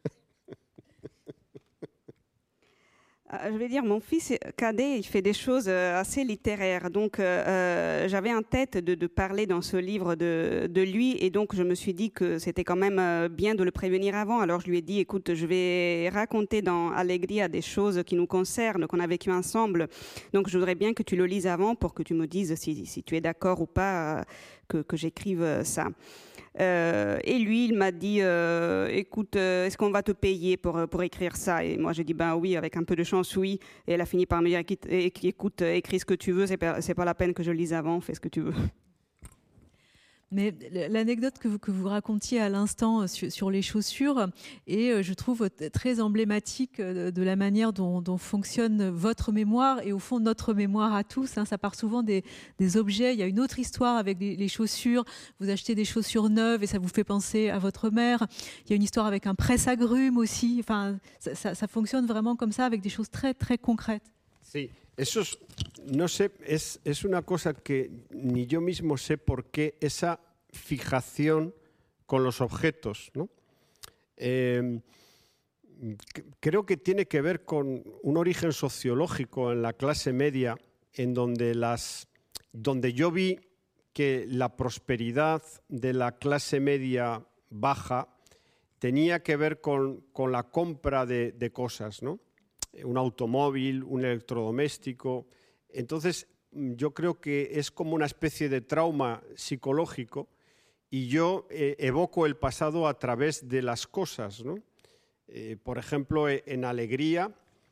Speaker 4: Je vais dire, mon fils cadet, il fait des choses assez littéraires. Donc, euh, j'avais en tête de, de parler dans ce livre de, de lui. Et donc, je me suis dit que c'était quand même bien de le prévenir avant. Alors, je lui ai dit, écoute, je vais raconter dans Alegria des choses qui nous concernent, qu'on a vécues ensemble. Donc, je voudrais bien que tu le lises avant pour que tu me dises si, si tu es d'accord ou pas que, que j'écrive ça. Euh, et lui, il m'a dit, euh, écoute, euh, est-ce qu'on va te payer pour, pour écrire ça? Et moi, j'ai dit, ben oui, avec un peu de chance, oui. Et elle a fini par me dire, écoute, écris ce que tu veux, c'est pas, c'est pas la peine que je le lise avant, fais ce que tu veux.
Speaker 2: Mais l'anecdote que vous, que vous racontiez à l'instant sur, sur les chaussures est, je trouve, très emblématique de la manière dont, dont fonctionne votre mémoire et au fond notre mémoire à tous. Hein. Ça part souvent des, des objets. Il y a une autre histoire avec les, les chaussures. Vous achetez des chaussures neuves et ça vous fait penser à votre mère. Il y a une histoire avec un presse-agrumes aussi. Enfin, ça, ça, ça fonctionne vraiment comme ça avec des choses très, très concrètes.
Speaker 3: Sí, eso es, no sé, es, es una cosa que ni yo mismo sé por qué esa fijación con los objetos, ¿no? Eh, creo que tiene que ver con un origen sociológico en la clase media, en donde, las, donde yo vi que la prosperidad de la clase media baja tenía que ver con, con la compra de, de cosas, ¿no? Un automóvil, un electrodoméstico. Entonces, yo creo que es como una especie de trauma psicológico y yo eh, evoco el pasado a través de las cosas, ¿no? Eh, por ejemplo, en Alegría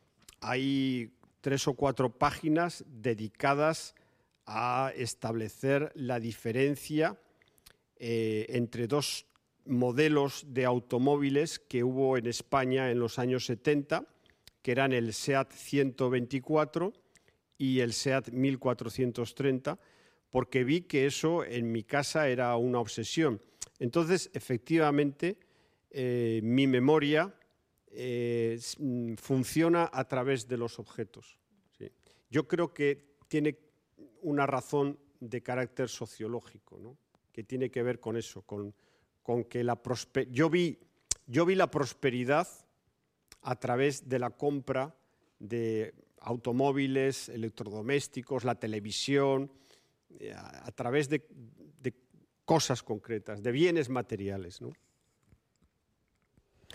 Speaker 3: hay tres o cuatro páginas dedicadas a establecer la diferencia eh, entre dos modelos de automóviles que hubo en España en los años setenta, que eran el SEAT ciento veinticuatro y el SEAT mil cuatrocientos treinta, porque vi que eso en mi casa era una obsesión. Entonces, efectivamente, eh, mi memoria eh, funciona a través de los objetos. ¿Sí? Yo creo que tiene una razón de carácter sociológico, ¿no? Que tiene que ver con eso, con, con que la prosper... yo vi, yo vi la prosperidad a través de la compra de automóviles, electrodomésticos, la televisión, a, a través de, de cosas concretas, de bienes materiales, ¿no?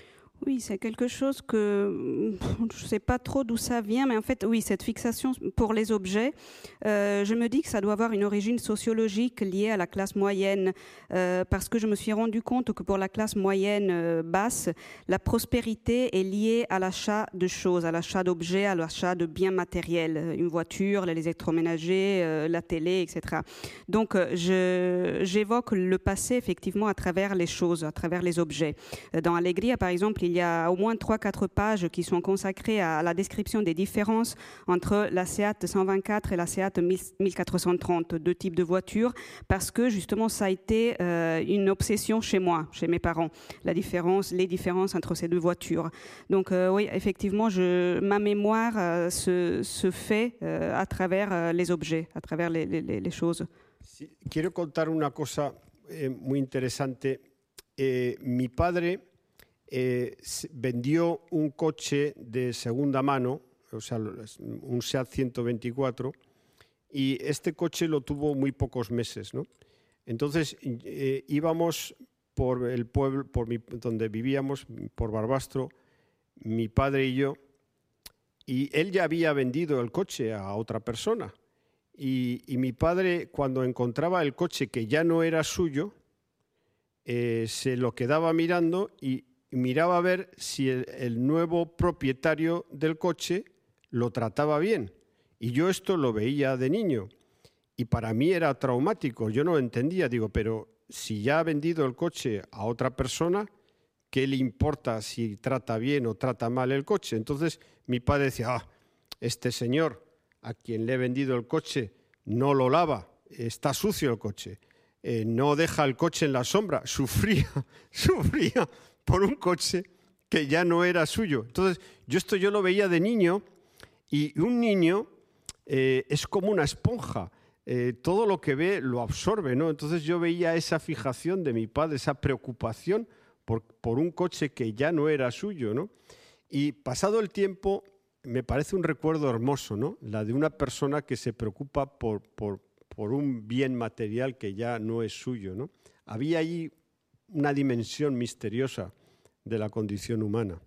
Speaker 4: Oui, c'est quelque chose que je ne sais pas trop d'où ça vient, mais en fait, oui, cette fixation pour les objets, euh, je me dis que ça doit avoir une origine sociologique liée à la classe moyenne, euh, parce que je me suis rendu compte que pour la classe moyenne euh, basse, la prospérité est liée à l'achat de choses, à l'achat d'objets, à l'achat de biens matériels, une voiture, l'électroménager, euh, la télé, et cetera. Donc, je, j'évoque le passé effectivement à travers les choses, à travers les objets. Dans Allegria, par exemple, il y a au moins trois quatre pages qui sont consacrées à la description des différences entre la Seat cent vingt-quatre et la Seat mille quatre cent trente, deux types de voitures, parce que justement ça a été euh, une obsession chez moi, chez mes parents, la différence, les différences entre ces deux voitures. Donc euh, oui, effectivement, je, ma mémoire euh, se, se fait euh, à travers euh, les objets, à travers les, les, les choses.
Speaker 3: Sí, quiero contar una cosa eh, muy interesante. Eh, mi padre Eh, vendió un coche de segunda mano, o sea, un Seat ciento veinticuatro, y este coche lo tuvo muy pocos meses, ¿no? Entonces eh, íbamos por el pueblo, por mi, donde vivíamos, por Barbastro, mi padre y yo, y él ya había vendido el coche a otra persona. Y, y mi padre, cuando encontraba el coche que ya no era suyo, eh, se lo quedaba mirando y miraba a ver si el, el nuevo propietario del coche lo trataba bien. Y yo esto lo veía de niño. Y para mí era traumático. Yo no entendía. Digo, pero si ya ha vendido el coche a otra persona, ¿qué le importa si trata bien o trata mal el coche? Entonces mi padre decía, ah, este señor a quien le he vendido el coche no lo lava, está sucio el coche, eh, no deja el coche en la sombra. Sufría, sufría por un coche que ya no era suyo. Entonces, yo esto yo lo veía de niño, y un niño eh, es como una esponja. Eh, todo lo que ve lo absorbe, ¿no? Entonces yo veía esa fijación de mi padre, esa preocupación por, por un coche que ya no era suyo, ¿no? Y pasado el tiempo, me parece un recuerdo hermoso, ¿no? La de una persona que se preocupa por, por, por un bien material que ya no es suyo, ¿no? Había ahí una dimensión misteriosa de la condition humana.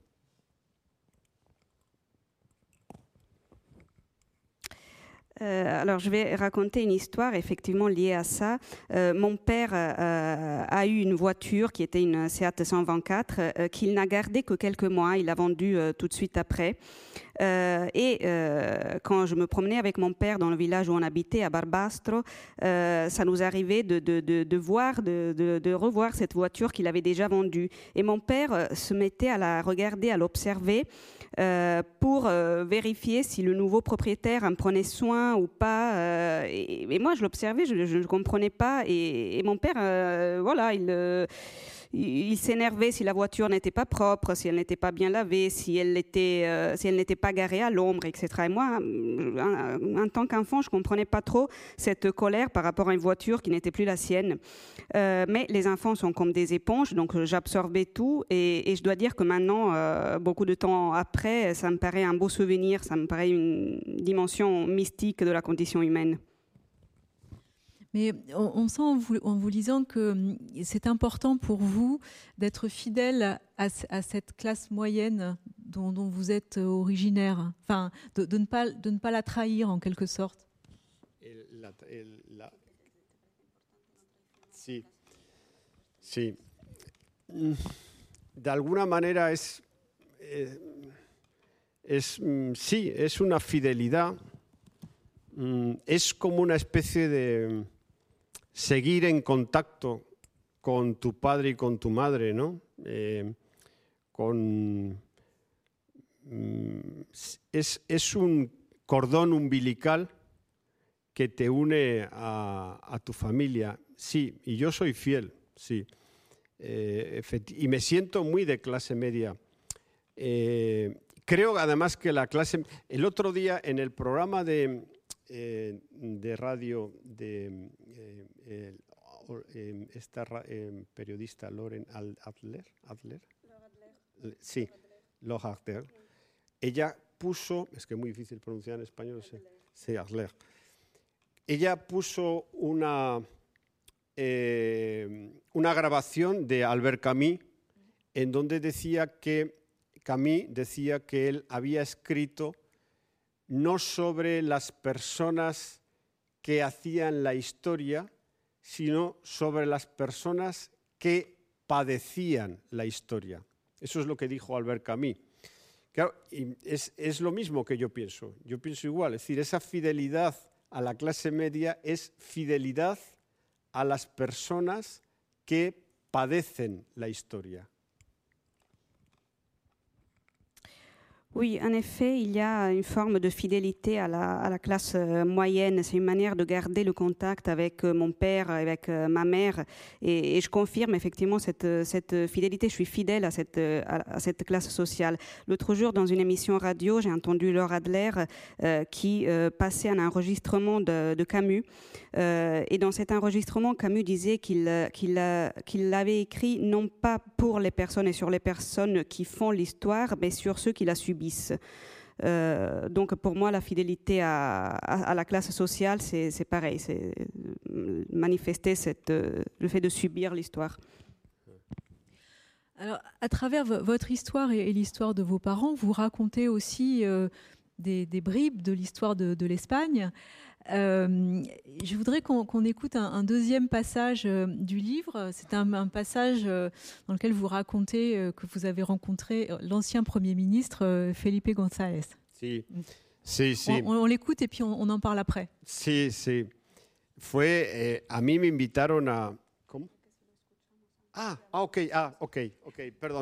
Speaker 4: Euh, alors, je vais raconter une histoire effectivement liée à ça. Euh, mon père euh, a eu une voiture qui était une Seat cent vingt-quatre euh, qu'il n'a gardée que quelques mois. Il l'a vendue euh, tout de suite après. Euh, et euh, quand je me promenais avec mon père dans le village où on habitait, à Barbastro, euh, ça nous arrivait de, de, de, de voir, de, de, de revoir cette voiture qu'il avait déjà vendue. Et mon père euh, se mettait à la regarder, à l'observer euh, pour euh, vérifier si le nouveau propriétaire en prenait soin ou pas. Euh, et, et moi, je l'observais, je ne comprenais pas. Et, et mon père, euh, voilà, il... Euh, il s'énervait si la voiture n'était pas propre, si elle n'était pas bien lavée, si elle était, euh, si elle n'était pas garée à l'ombre, et cetera. Et moi, en, en tant qu'enfant, je ne comprenais pas trop cette colère par rapport à une voiture qui n'était plus la sienne. Euh, mais les enfants sont comme des éponges, donc j'absorbais tout. Et, et je dois dire que maintenant, euh, beaucoup de temps après, ça me paraît un beau souvenir, ça me paraît une dimension mystique de la condition humaine.
Speaker 2: Mais on, on sent en vous, en vous lisant que c'est important pour vous d'être fidèle à, à cette classe moyenne dont, dont vous êtes originaire, enfin, de, de, ne pas, de ne pas la trahir en quelque sorte.
Speaker 3: El, la, el, la... Sí, sí. De alguna manera es, eh, es, sí, es una fidelidad, es como una especie de seguir en contacto con tu padre y con tu madre, ¿no? Eh, con, es, es un cordón umbilical que te une a, a tu familia. Sí, y yo soy fiel, sí. Eh, y me siento muy de clase media. Eh, creo además que la clase... El otro día en el programa de... Eh, de radio de eh, eh, eh, esta eh, periodista Lauren Adler, Adler, Adler. sí, Laura Adler, ella puso, es que es muy difícil pronunciar en español, sí, sí, Adler, ella puso una, eh, una grabación de Albert Camus en donde decía que Camus decía que él había escrito no sobre las personas que hacían la historia, sino sobre las personas que padecían la historia. Eso es lo que dijo Albert Camus. Claro, y es, es lo mismo que yo pienso. Yo pienso igual. Es decir, esa fidelidad a la clase media es fidelidad a las personas que padecen la historia.
Speaker 4: Oui, en effet, il y a une forme de fidélité à la, à la classe euh, moyenne. C'est une manière de garder le contact avec euh, mon père, avec euh, ma mère. Et, et je confirme effectivement cette, cette fidélité. Je suis fidèle à cette, à, à cette classe sociale. L'autre jour, dans une émission radio, j'ai entendu Laure Adler euh, qui euh, passait un enregistrement de, de Camus. Euh, et dans cet enregistrement, Camus disait qu'il, qu'il, qu'il l'avait écrit non pas pour les personnes et sur les personnes qui font l'histoire, mais sur ceux qui la subissent. Euh, donc pour moi, la fidélité à, à, à la classe sociale, c'est, c'est pareil, c'est manifester cette, le fait de subir l'histoire.
Speaker 2: Alors, à travers v- votre histoire et, et l'histoire de vos parents, vous racontez aussi euh, des, des bribes de l'histoire de, de l'Espagne. Euh, je voudrais qu'on, qu'on écoute un, un deuxième passage euh, du livre. C'est un, un passage euh, dans lequel vous racontez euh, que vous avez rencontré l'ancien Premier ministre euh, Felipe González.
Speaker 3: Sí, sí, sí.
Speaker 2: On, on l'écoute et puis on, on en parle après.
Speaker 3: Sí, sí. Fue, eh, a mí me invitaron a... ¿Cómo? Ah, ah, ok, ah, ok, ok, perdón.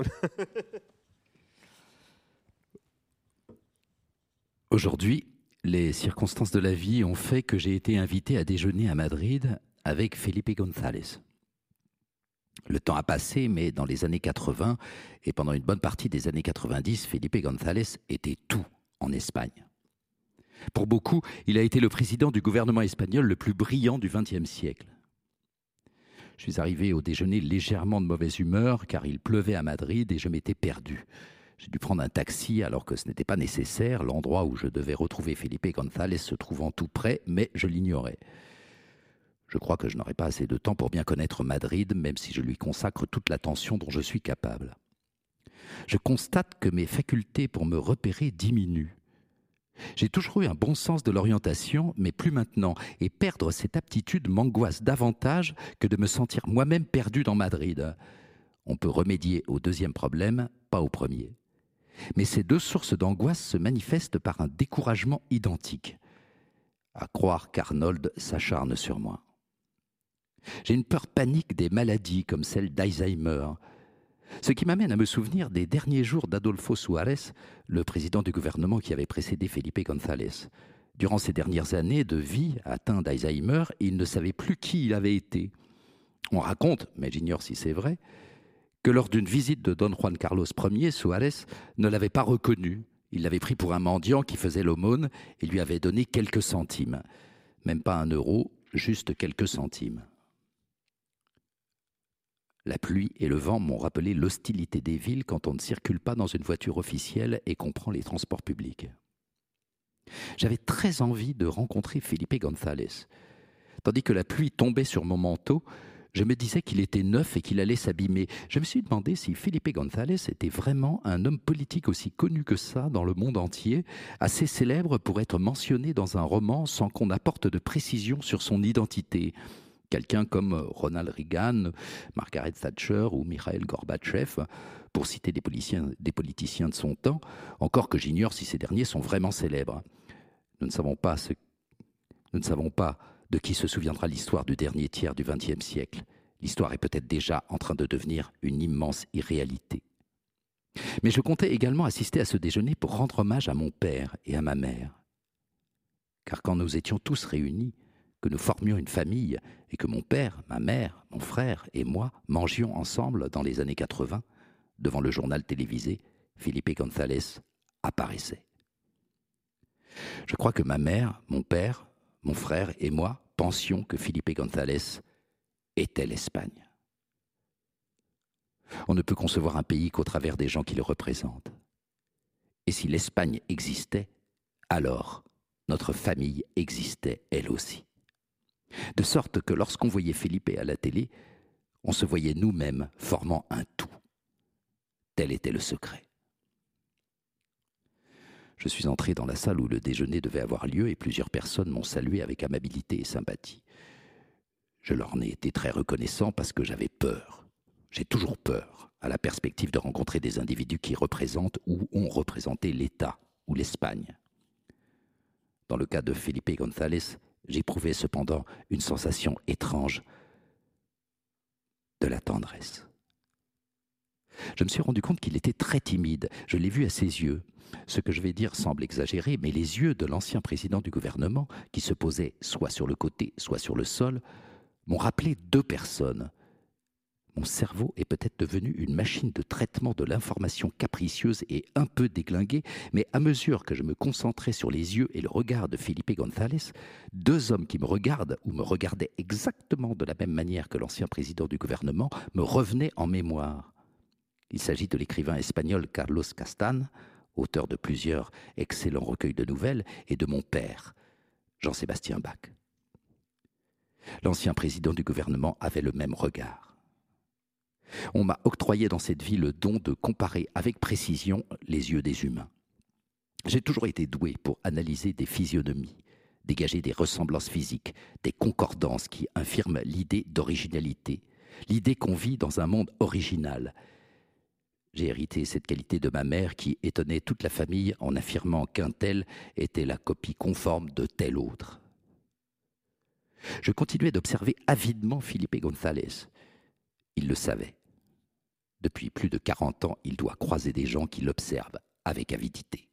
Speaker 1: Aujourd'hui, les circonstances de la vie ont fait que j'ai été invité à déjeuner à Madrid avec Felipe González. Le temps a passé, mais dans les années quatre-vingts et pendant une bonne partie des années quatre-vingt-dix, Felipe González était tout en Espagne. Pour beaucoup, il a été le président du gouvernement espagnol le plus brillant du vingtième siècle. Je suis arrivé au déjeuner légèrement de mauvaise humeur car il pleuvait à Madrid et je m'étais perdu. J'ai dû prendre un taxi alors que ce n'était pas nécessaire. L'endroit où je devais retrouver Felipe González se trouvant tout près, mais je l'ignorais. Je crois que je n'aurai pas assez de temps pour bien connaître Madrid, même si je lui consacre toute l'attention dont je suis capable. Je constate que mes facultés pour me repérer diminuent. J'ai toujours eu un bon sens de l'orientation, mais plus maintenant, et perdre cette aptitude m'angoisse davantage que de me sentir moi-même perdu dans Madrid. On peut remédier au deuxième problème, pas au premier. Mais ces deux sources d'angoisse se manifestent par un découragement identique. À croire qu'Arnold s'acharne sur moi. J'ai une peur panique des maladies comme celle d'Alzheimer, ce qui m'amène à me souvenir des derniers jours d'Adolfo Suárez, le président du gouvernement qui avait précédé Felipe González. Durant ces dernières années de vie atteint d'Alzheimer, il ne savait plus qui il avait été. On raconte, mais j'ignore si c'est vrai, que lors d'une visite de Don Juan Carlos Ier, Suárez ne l'avait pas reconnu. Il l'avait pris pour un mendiant qui faisait l'aumône et lui avait donné quelques centimes. Même pas un euro, juste quelques centimes. La pluie et le vent m'ont rappelé l'hostilité des villes quand on ne circule pas dans une voiture officielle et qu'on prend les transports publics. J'avais très envie de rencontrer Felipe González. Tandis que la pluie tombait sur mon manteau, je me disais qu'il était neuf et qu'il allait s'abîmer. Je me suis demandé si Felipe González était vraiment un homme politique aussi connu que ça dans le monde entier, assez célèbre pour être mentionné dans un roman sans qu'on apporte de précision sur son identité. Quelqu'un comme Ronald Reagan, Margaret Thatcher ou Mikhail Gorbatchev, pour citer des politiciens, des politiciens de son temps, encore que j'ignore si ces derniers sont vraiment célèbres. Nous ne savons pas ce, nous ne savons pas de qui se souviendra l'histoire du dernier tiers du vingtième siècle. L'histoire est peut-être déjà en train de devenir une immense irréalité. Mais je comptais également assister à ce déjeuner pour rendre hommage à mon père et à ma mère. Car quand nous étions tous réunis, que nous formions une famille et que mon père, ma mère, mon frère et moi mangions ensemble dans les années quatre-vingts, devant le journal télévisé, Felipe González apparaissait. Je crois que ma mère, mon père, mon frère et moi pensions que Felipe González était l'Espagne. On ne peut concevoir un pays qu'au travers des gens qui le représentent. Et si l'Espagne existait, alors notre famille existait elle aussi. De sorte que lorsqu'on voyait Felipe à la télé, on se voyait nous-mêmes formant un tout. Tel était le secret. Je suis entré dans la salle où le déjeuner devait avoir lieu et plusieurs personnes m'ont salué avec amabilité et sympathie. Je leur en ai été très reconnaissant parce que j'avais peur. J'ai toujours peur à la perspective de rencontrer des individus qui représentent ou ont représenté l'État ou l'Espagne. Dans le cas de Felipe González, j'éprouvais cependant une sensation étrange de la tendresse. Je me suis rendu compte qu'il était très timide. Je l'ai vu à ses yeux. Ce que je vais dire semble exagéré, mais les yeux de l'ancien président du gouvernement, qui se posait soit sur le côté, soit sur le sol, m'ont rappelé deux personnes. Mon cerveau est peut-être devenu une machine de traitement de l'information capricieuse et un peu déglinguée, mais à mesure que je me concentrais sur les yeux et le regard de Felipe González, deux hommes qui me regardent ou me regardaient exactement de la même manière que l'ancien président du gouvernement me revenaient en mémoire. Il s'agit de l'écrivain espagnol Carlos Castan, auteur de plusieurs excellents recueils de nouvelles, et de mon père, Jean-Sébastien Bach. L'ancien président du gouvernement avait le même regard. On m'a octroyé dans cette vie le don de comparer avec précision les yeux des humains. J'ai toujours été doué pour analyser des physionomies, dégager des ressemblances physiques, des concordances qui infirment l'idée d'originalité, l'idée qu'on vit dans un monde original. J'ai hérité cette qualité de ma mère qui étonnait toute la famille en affirmant qu'un tel était la copie conforme de tel autre. Je continuais d'observer avidement Felipe González. Il le savait. Depuis plus de quarante ans, il doit croiser des gens qui l'observent avec avidité.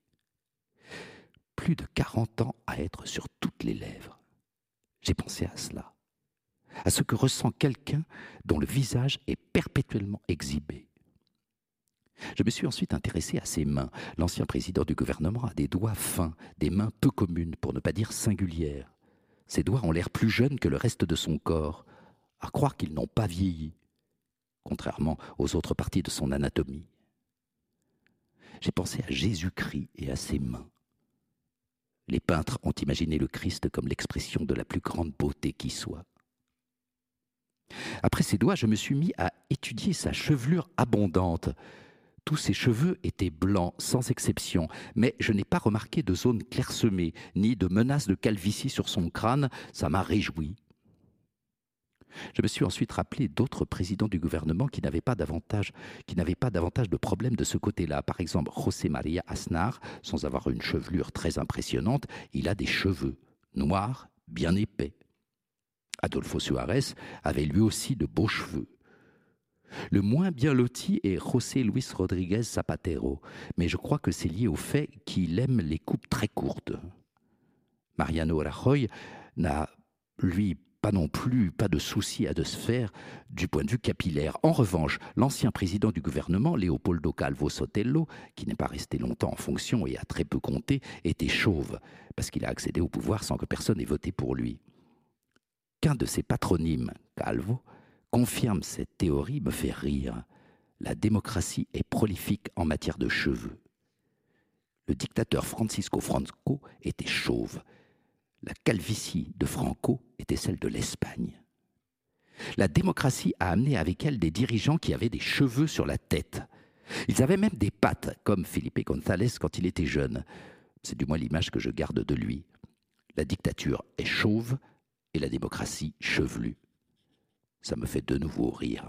Speaker 1: Plus de quarante ans à être sur toutes les lèvres. J'ai pensé à cela, à ce que ressent quelqu'un dont le visage est perpétuellement exhibé. Je me suis ensuite intéressé à ses mains. L'ancien président du gouvernement a des doigts fins, des mains peu communes, pour ne pas dire singulières. Ses doigts ont l'air plus jeunes que le reste de son corps, à croire qu'ils n'ont pas vieilli, contrairement aux autres parties de son anatomie. J'ai pensé à Jésus-Christ et à ses mains. Les peintres ont imaginé le Christ comme l'expression de la plus grande beauté qui soit. Après ses doigts, je me suis mis à étudier sa chevelure abondante. Tous ses cheveux étaient blancs, sans exception, mais je n'ai pas remarqué de zone clairsemée, ni de menace de calvitie sur son crâne. Ça m'a réjoui. Je me suis ensuite rappelé d'autres présidents du gouvernement qui n'avaient pas davantage, qui n'avaient pas davantage de problèmes de ce côté-là. Par exemple, José María Aznar, sans avoir une chevelure très impressionnante, il a des cheveux noirs, bien épais. Adolfo Suárez avait lui aussi de beaux cheveux. Le moins bien loti est José Luis Rodríguez Zapatero, mais je crois que c'est lié au fait qu'il aime les coupes très courtes. Mariano Rajoy n'a, lui, pas non plus, pas de souci à de se faire du point de vue capillaire. En revanche, l'ancien président du gouvernement, Leopoldo Calvo Sotelo, qui n'est pas resté longtemps en fonction et a très peu compté, était chauve, parce qu'il a accédé au pouvoir sans que personne ait voté pour lui. Qu'un de ses patronymes, Calvo, confirme cette théorie me fait rire. La démocratie est prolifique en matière de cheveux. Le dictateur Francisco Franco était chauve. La calvitie de Franco était celle de l'Espagne. La démocratie a amené avec elle des dirigeants qui avaient des cheveux sur la tête. Ils avaient même des pattes, comme Felipe González quand il était jeune. C'est du moins l'image que je garde de lui. La dictature est chauve et la démocratie chevelue. Ça me fait de nouveau rire.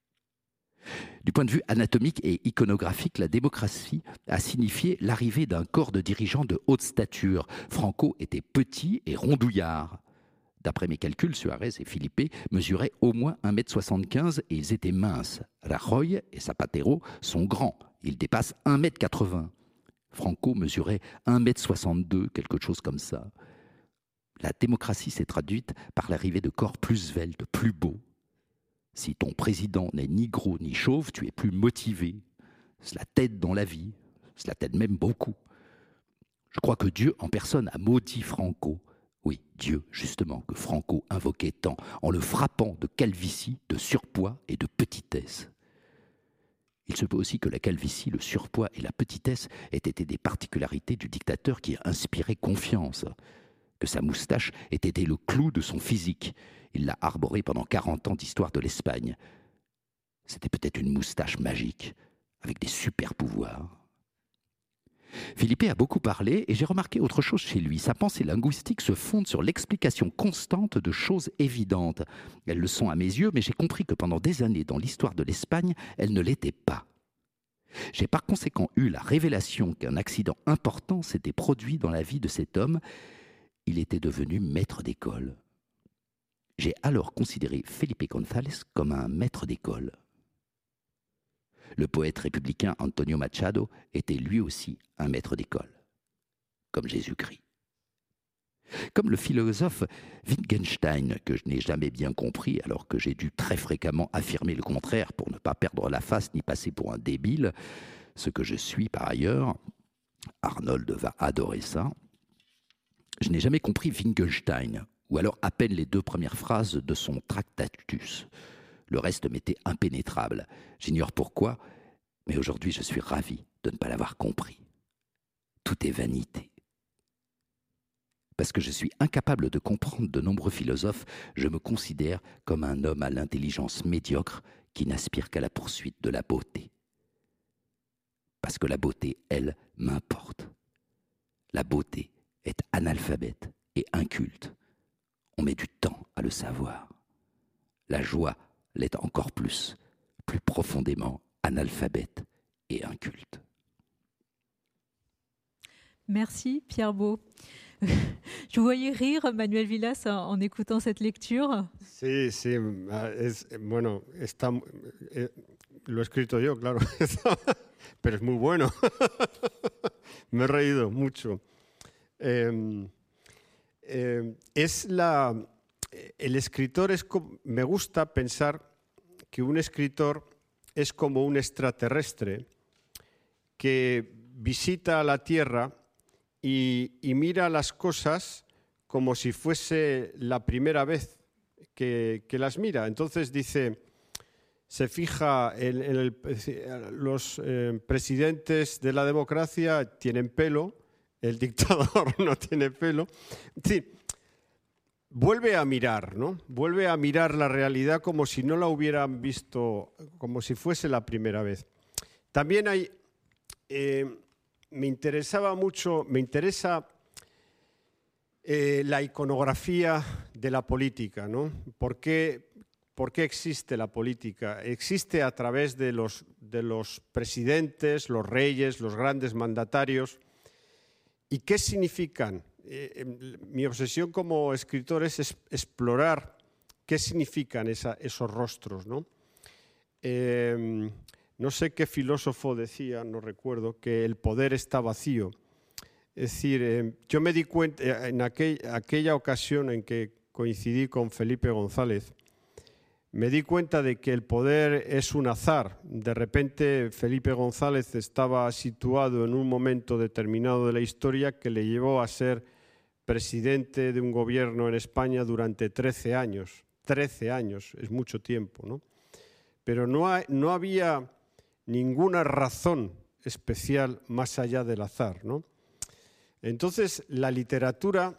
Speaker 1: Du point de vue anatomique et iconographique, la démocratie a signifié l'arrivée d'un corps de dirigeants de haute stature. Franco était petit et rondouillard. D'après mes calculs, Suárez et Felipe mesuraient au moins un mètre soixante-quinze et ils étaient minces. Rajoy et Zapatero sont grands, ils dépassent un mètre quatre-vingts. Franco mesurait un mètre soixante-deux, quelque chose comme ça. La démocratie s'est traduite par l'arrivée de corps plus sveltes, plus beaux. Si ton président n'est ni gros ni chauve, tu es plus motivé. Cela t'aide dans la vie, cela t'aide même beaucoup. Je crois que Dieu en personne a maudit Franco. Oui, Dieu, justement, que Franco invoquait tant, en le frappant de calvitie, de surpoids et de petitesse. Il se peut aussi que la calvitie, le surpoids et la petitesse aient été des particularités du dictateur qui inspirait confiance, que sa moustache ait été le clou de son physique. Il l'a arborée pendant quarante ans d'histoire de l'Espagne. C'était peut-être une moustache magique, avec des super pouvoirs. Philippe a beaucoup parlé et j'ai remarqué autre chose chez lui. Sa pensée linguistique se fonde sur l'explication constante de choses évidentes. Elles le sont à mes yeux, mais j'ai compris que pendant des années dans l'histoire de l'Espagne, elles ne l'étaient pas. J'ai par conséquent eu la révélation qu'un accident important s'était produit dans la vie de cet homme. Il était devenu maître d'école. J'ai alors considéré Felipe González comme un maître d'école. Le poète républicain Antonio Machado était lui aussi un maître d'école, comme Jésus-Christ. Comme le philosophe Wittgenstein, que je n'ai jamais bien compris alors que j'ai dû très fréquemment affirmer le contraire pour ne pas perdre la face ni passer pour un débile, ce que je suis par ailleurs, Arnold va adorer ça. Je n'ai jamais compris Wittgenstein, ou alors à peine les deux premières phrases de son Tractatus. Le reste m'était impénétrable. J'ignore pourquoi, mais aujourd'hui je suis ravi de ne pas l'avoir compris. Tout est vanité. Parce que je suis incapable de comprendre de nombreux philosophes, je me considère comme un homme à l'intelligence médiocre qui n'aspire qu'à la poursuite de la beauté. Parce que la beauté, elle, m'importe. La beauté est analphabète et inculte. On met du temps à le savoir. La joie l'est encore plus, plus profondément analphabète et inculte.
Speaker 2: Merci Pierre Beau. Je vous voyais rire, Manuel Vilas, en, en écoutant cette lecture.
Speaker 3: Sí, sí, es, bueno, está, eh, lo he escrito yo, claro, pero es muy bueno. Me he reído mucho. Eh, eh, es la... El escritor es como, me gusta pensar que un escritor es como un extraterrestre que visita la Tierra y, y mira las cosas como si fuese la primera vez que, que las mira. Entonces dice, se fija en, en el, los eh, presidentes de la democracia tienen pelo, el dictador no tiene pelo. Sí, vuelve a mirar, ¿no? Vuelve a mirar la realidad como si no la hubieran visto, como si fuese la primera vez. También hay, eh, me interesaba mucho, me interesa eh, la iconografía de la política, ¿no? ¿Por qué, por qué existe la política? Existe a través de los, de los presidentes, los reyes, los grandes mandatarios. ¿Y qué significan? Eh, mi obsesión como escritor es, es explorar qué significan esa, esos rostros, ¿no? Eh, no sé qué filósofo decía, no recuerdo, que el poder está vacío. Es decir, eh, yo me di cuenta en aquel, aquella ocasión en que coincidí con Felipe González, me di cuenta de que el poder es un azar. De repente Felipe González estaba situado en un momento determinado de la historia que le llevó a ser presidente de un gobierno en España durante trece años. trece años, es mucho tiempo, ¿no? Pero no, hay, no había ninguna razón especial más allá del azar, ¿no? Entonces, la literatura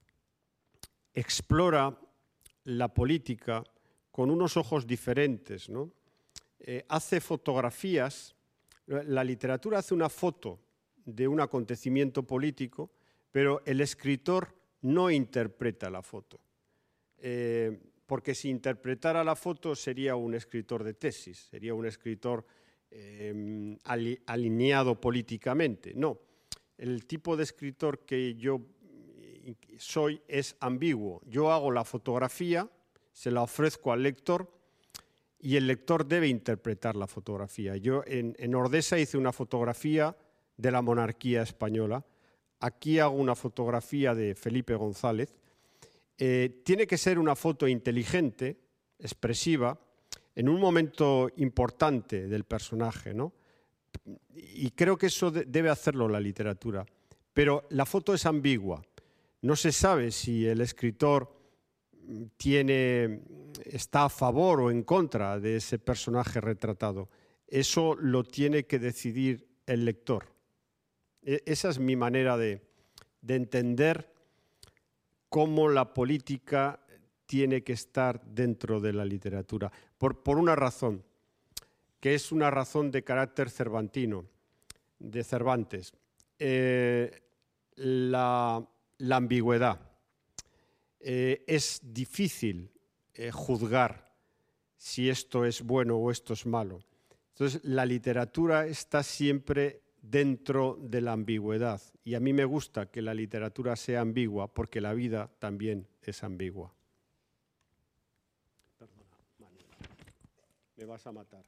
Speaker 3: explora la política con unos ojos diferentes, ¿no? Eh, hace fotografías, la literatura hace una foto de un acontecimiento político, pero el escritor no interpreta la foto. Eh, porque si interpretara la foto sería un escritor de tesis, sería un escritor eh, ali, alineado políticamente. No, el tipo de escritor que yo soy es ambiguo. Yo hago la fotografía, se la ofrezco al lector y el lector debe interpretar la fotografía. Yo en, en Ordesa hice una fotografía de la monarquía española. Aquí hago una fotografía de Felipe González. Eh, tiene que ser una foto inteligente, expresiva, en un momento importante del personaje, ¿no? Y creo que eso de, debe hacerlo la literatura. Pero la foto es ambigua. No se sabe si el escritor tiene, está a favor o en contra de ese personaje retratado. Eso lo tiene que decidir el lector. E- esa es mi manera de, de entender cómo la política tiene que estar dentro de la literatura. Por, por una razón, que es una razón de carácter cervantino, de Cervantes. eh, la, la ambigüedad. Eh, es difícil eh, juzgar si esto es bueno o esto es malo. Entonces, la literatura está siempre dentro de la ambigüedad. Y a mí me gusta que la literatura sea ambigua porque la vida también es ambigua. Perdona, Manuel. Me vas a matar.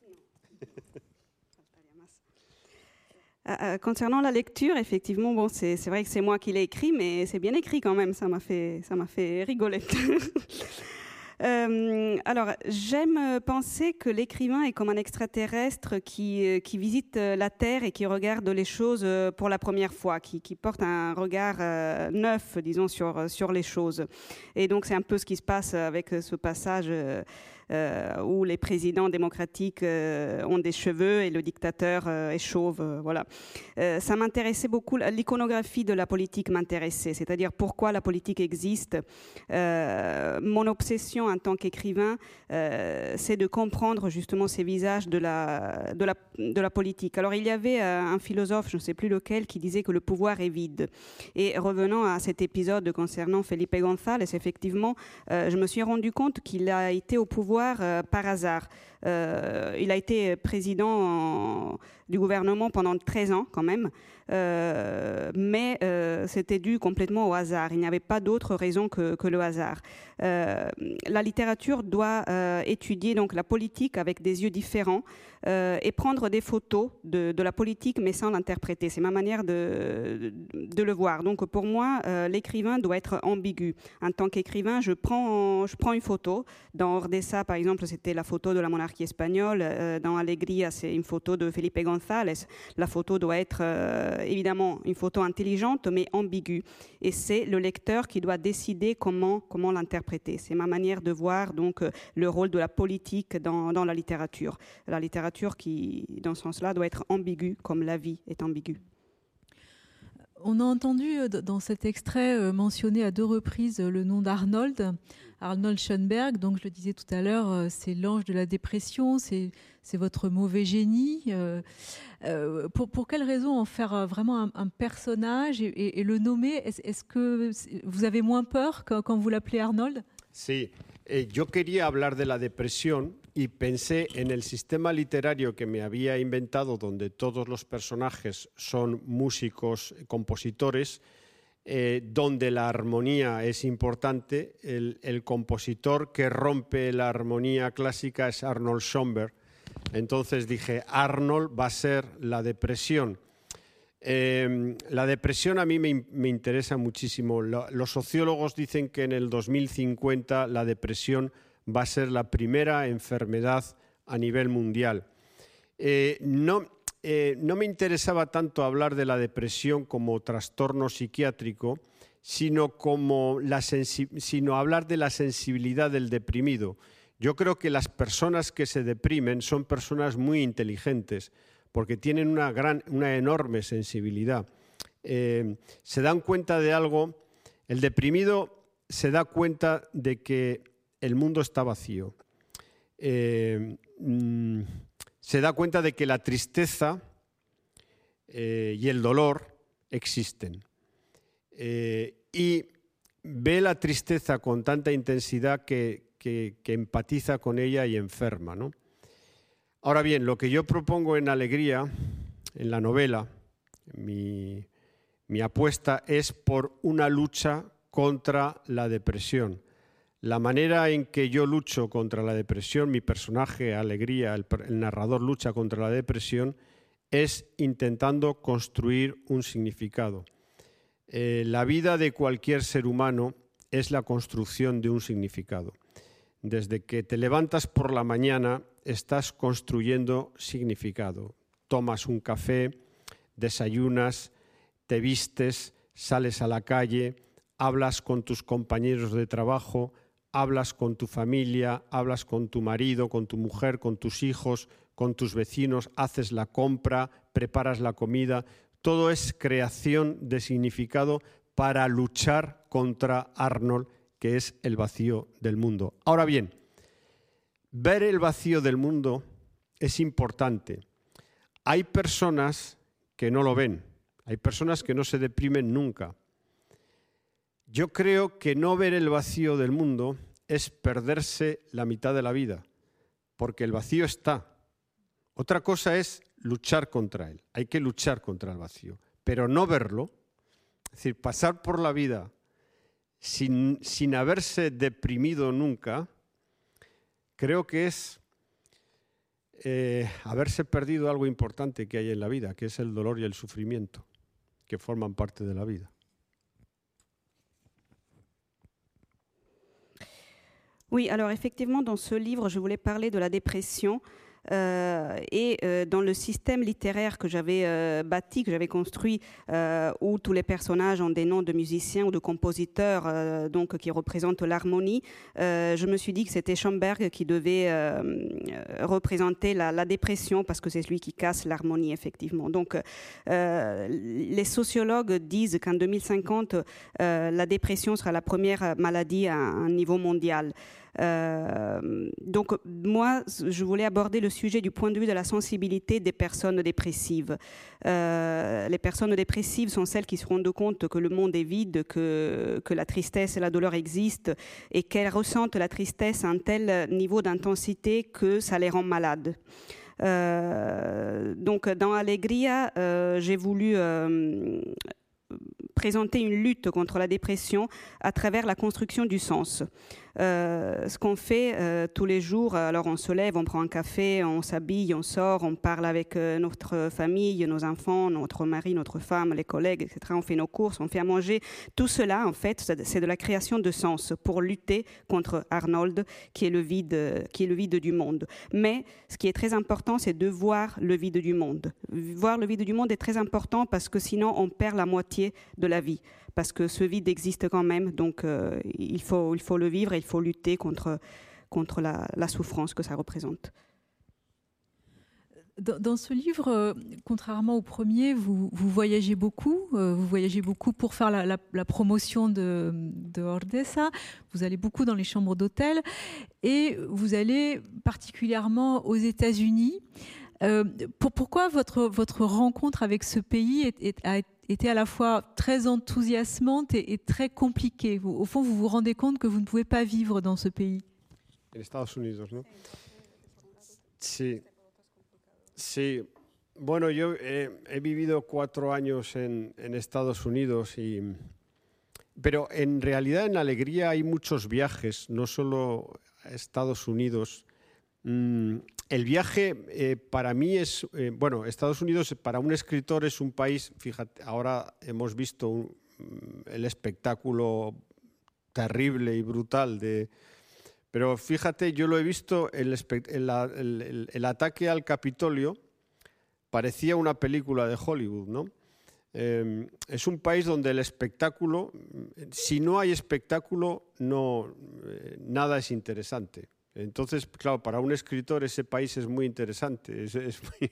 Speaker 4: Euh, concernant la lecture, effectivement, bon, c'est, c'est vrai que c'est moi qui l'ai écrit, mais c'est bien écrit quand même, ça m'a fait, ça m'a fait rigoler. Euh, alors, j'aime penser que l'écrivain est comme un extraterrestre qui, qui visite la Terre et qui regarde les choses pour la première fois, qui, qui porte un regard euh, neuf, disons, sur, sur les choses. Et donc, c'est un peu ce qui se passe avec ce passage euh, euh, où les présidents démocratiques euh, ont des cheveux et le dictateur euh, est chauve. Euh, voilà. Euh, ça m'intéressait beaucoup, l'iconographie de la politique m'intéressait, c'est-à-dire pourquoi la politique existe. Euh, mon obsession en tant qu'écrivain, euh, c'est de comprendre justement ces visages de la, de, la, de la politique. Alors il y avait euh, un philosophe, je ne sais plus lequel, qui disait que le pouvoir est vide. Et revenant à cet épisode concernant Felipe González, effectivement, euh, je me suis rendu compte qu'il a été au pouvoir euh, par hasard. Euh, il a été président en, du gouvernement pendant treize ans quand même, euh, mais euh, c'était dû complètement au hasard. Il n'y avait pas d'autre raison que, que le hasard. Euh, la littérature doit euh, étudier donc la politique avec des yeux différents euh, et prendre des photos de, de la politique mais sans l'interpréter. C'est ma manière de, de, de le voir. Donc pour moi, euh, l'écrivain doit être ambigu. En tant qu'écrivain, je prends, je prends une photo. Dans Ordesa, par exemple, c'était la photo de la monarchie espagnole. Euh, dans Alegría, c'est une photo de Felipe González. La photo doit être euh, évidemment une photo intelligente mais ambiguë. Et c'est le lecteur qui doit décider comment, comment l'interpréter. C'est ma manière de voir donc le rôle de la politique dans, dans la littérature. La littérature qui, dans ce sens-là, doit être ambiguë comme la vie est ambiguë.
Speaker 2: On a entendu dans cet extrait mentionner à deux reprises le nom d'Arnold, Arnold Schoenberg. Donc je le disais tout à l'heure, c'est l'ange de la dépression, c'est, c'est votre mauvais génie. Euh, euh, pour, pour quelle raison en faire vraiment un, un personnage et, et, et le nommer? Est-ce, est-ce que vous avez moins peur quand, quand vous l'appelez Arnold?
Speaker 3: Sí, eh, yo quería hablar de la depresión y pensé en el sistema literario que me había inventado, donde todos los personajes son músicos, compositores, eh, donde la armonía es importante. El, el compositor que rompe la armonía clásica es Arnold Schoenberg. Entonces dije, Arnold va a ser la depresión. Eh, la depresión a mí me, me interesa muchísimo. Lo, los sociólogos dicen que en el dos mil cincuenta la depresión va a ser la primera enfermedad a nivel mundial. Eh, no, eh, no me interesaba tanto hablar de la depresión como trastorno psiquiátrico, sino, como la sensi- sino hablar de la sensibilidad del deprimido. Yo creo que las personas que se deprimen son personas muy inteligentes, porque tienen una, gran, una enorme sensibilidad. Eh, se dan cuenta de algo, el deprimido se da cuenta de que el mundo está vacío. Eh, mm, se da cuenta de que la tristeza eh, y el dolor existen. Eh, y ve la tristeza con tanta intensidad que, que, que empatiza con ella y enferma, ¿no? Ahora bien, lo que yo propongo en Alegría, en la novela, mi, mi apuesta es por una lucha contra la depresión. La manera en que yo lucho contra la depresión, mi personaje, Alegría, el, el narrador lucha contra la depresión, es intentando construir un significado. Eh, la vida de cualquier ser humano es la construcción de un significado. Desde que te levantas por la mañana, estás construyendo significado. Tomas un café, desayunas, te vistes, sales a la calle, hablas con tus compañeros de trabajo, hablas con tu familia, hablas con tu marido, con tu mujer, con tus hijos, con tus vecinos, haces la compra, preparas la comida. Todo es creación de significado para luchar contra Arnold, que es el vacío del mundo. Ahora bien, ver el vacío del mundo es importante. Hay personas que no lo ven. Hay personas que no se deprimen nunca. Yo creo que no ver el vacío del mundo es perderse la mitad de la vida, porque el vacío está. Otra cosa es luchar contra él. Hay que luchar contra el vacío, pero no verlo, es decir, pasar por la vida sin, sin haberse deprimido nunca, creo que es eh, haberse perdido algo importante que hay en la vida, que es el dolor y el sufrimiento, que forman parte de la vida.
Speaker 4: Oui, alors effectivement, dans ce livre, je voulais parler de la dépression euh, et euh, dans le système littéraire que j'avais euh, bâti, que j'avais construit, euh, où tous les personnages ont des noms de musiciens ou de compositeurs euh, donc, qui représentent l'harmonie, euh, je me suis dit que c'était Schoenberg qui devait euh, représenter la, la dépression parce que c'est lui qui casse l'harmonie, effectivement. Donc, euh, les sociologues disent qu'en deux mille cinquante, euh, la dépression sera la première maladie à un niveau mondial. Euh, donc moi, je voulais aborder le sujet du point de vue de la sensibilité des personnes dépressives. Euh, les personnes dépressives sont celles qui se rendent compte que le monde est vide, que, que la tristesse et la douleur existent et qu'elles ressentent la tristesse à un tel niveau d'intensité que ça les rend malades. Euh, donc dans Alegria, euh, j'ai voulu euh, présenter une lutte contre la dépression à travers la construction du sens. Euh, ce qu'on fait euh, tous les jours, alors on se lève, on prend un café, on s'habille, on sort, on parle avec euh, notre famille, nos enfants, notre mari, notre femme, les collègues, et cetera. On fait nos courses, on fait à manger. Tout cela, en fait, c'est de la création de sens pour lutter contre Arnold, qui est le vide, qui est le vide du monde. Mais ce qui est très important, c'est de voir le vide du monde. Voir le vide du monde est très important parce que sinon, on perd la moitié de la vie. Parce que ce vide existe quand même, donc euh, il faut, il faut le vivre et il faut lutter contre, contre la, la souffrance que ça représente.
Speaker 2: Dans, dans ce livre, euh, contrairement au premier, vous, vous voyagez beaucoup, euh, vous voyagez beaucoup pour faire la, la, la promotion de, de Ordesa, vous allez beaucoup dans les chambres d'hôtel et vous allez particulièrement aux États-Unis. Euh, pour, pourquoi votre, votre rencontre avec ce pays est, est, a été à la fois très enthousiasmante et, et très compliquée? Vous, au fond, vous vous rendez compte que vous ne pouvez pas vivre dans ce pays.
Speaker 3: En Estados Unidos, ¿no? Sí. Sí. Bueno, yo he, he vivido cuatro años en, en Estados Unidos, y, pero en realidad en Alegría hay muchos viajes, no solo a Estados Unidos. Mm, el viaje eh, para mí es, eh, bueno, Estados Unidos para un escritor es un país, fíjate, ahora hemos visto un, el espectáculo terrible y brutal de... Pero fíjate, yo lo he visto, el, el, el, el ataque al Capitolio parecía una película de Hollywood, ¿no? Eh, es un país donde el espectáculo, si no hay espectáculo, no, eh, nada es interesante. Entonces, claro, para un escritor ese país es muy interesante, es, es, muy,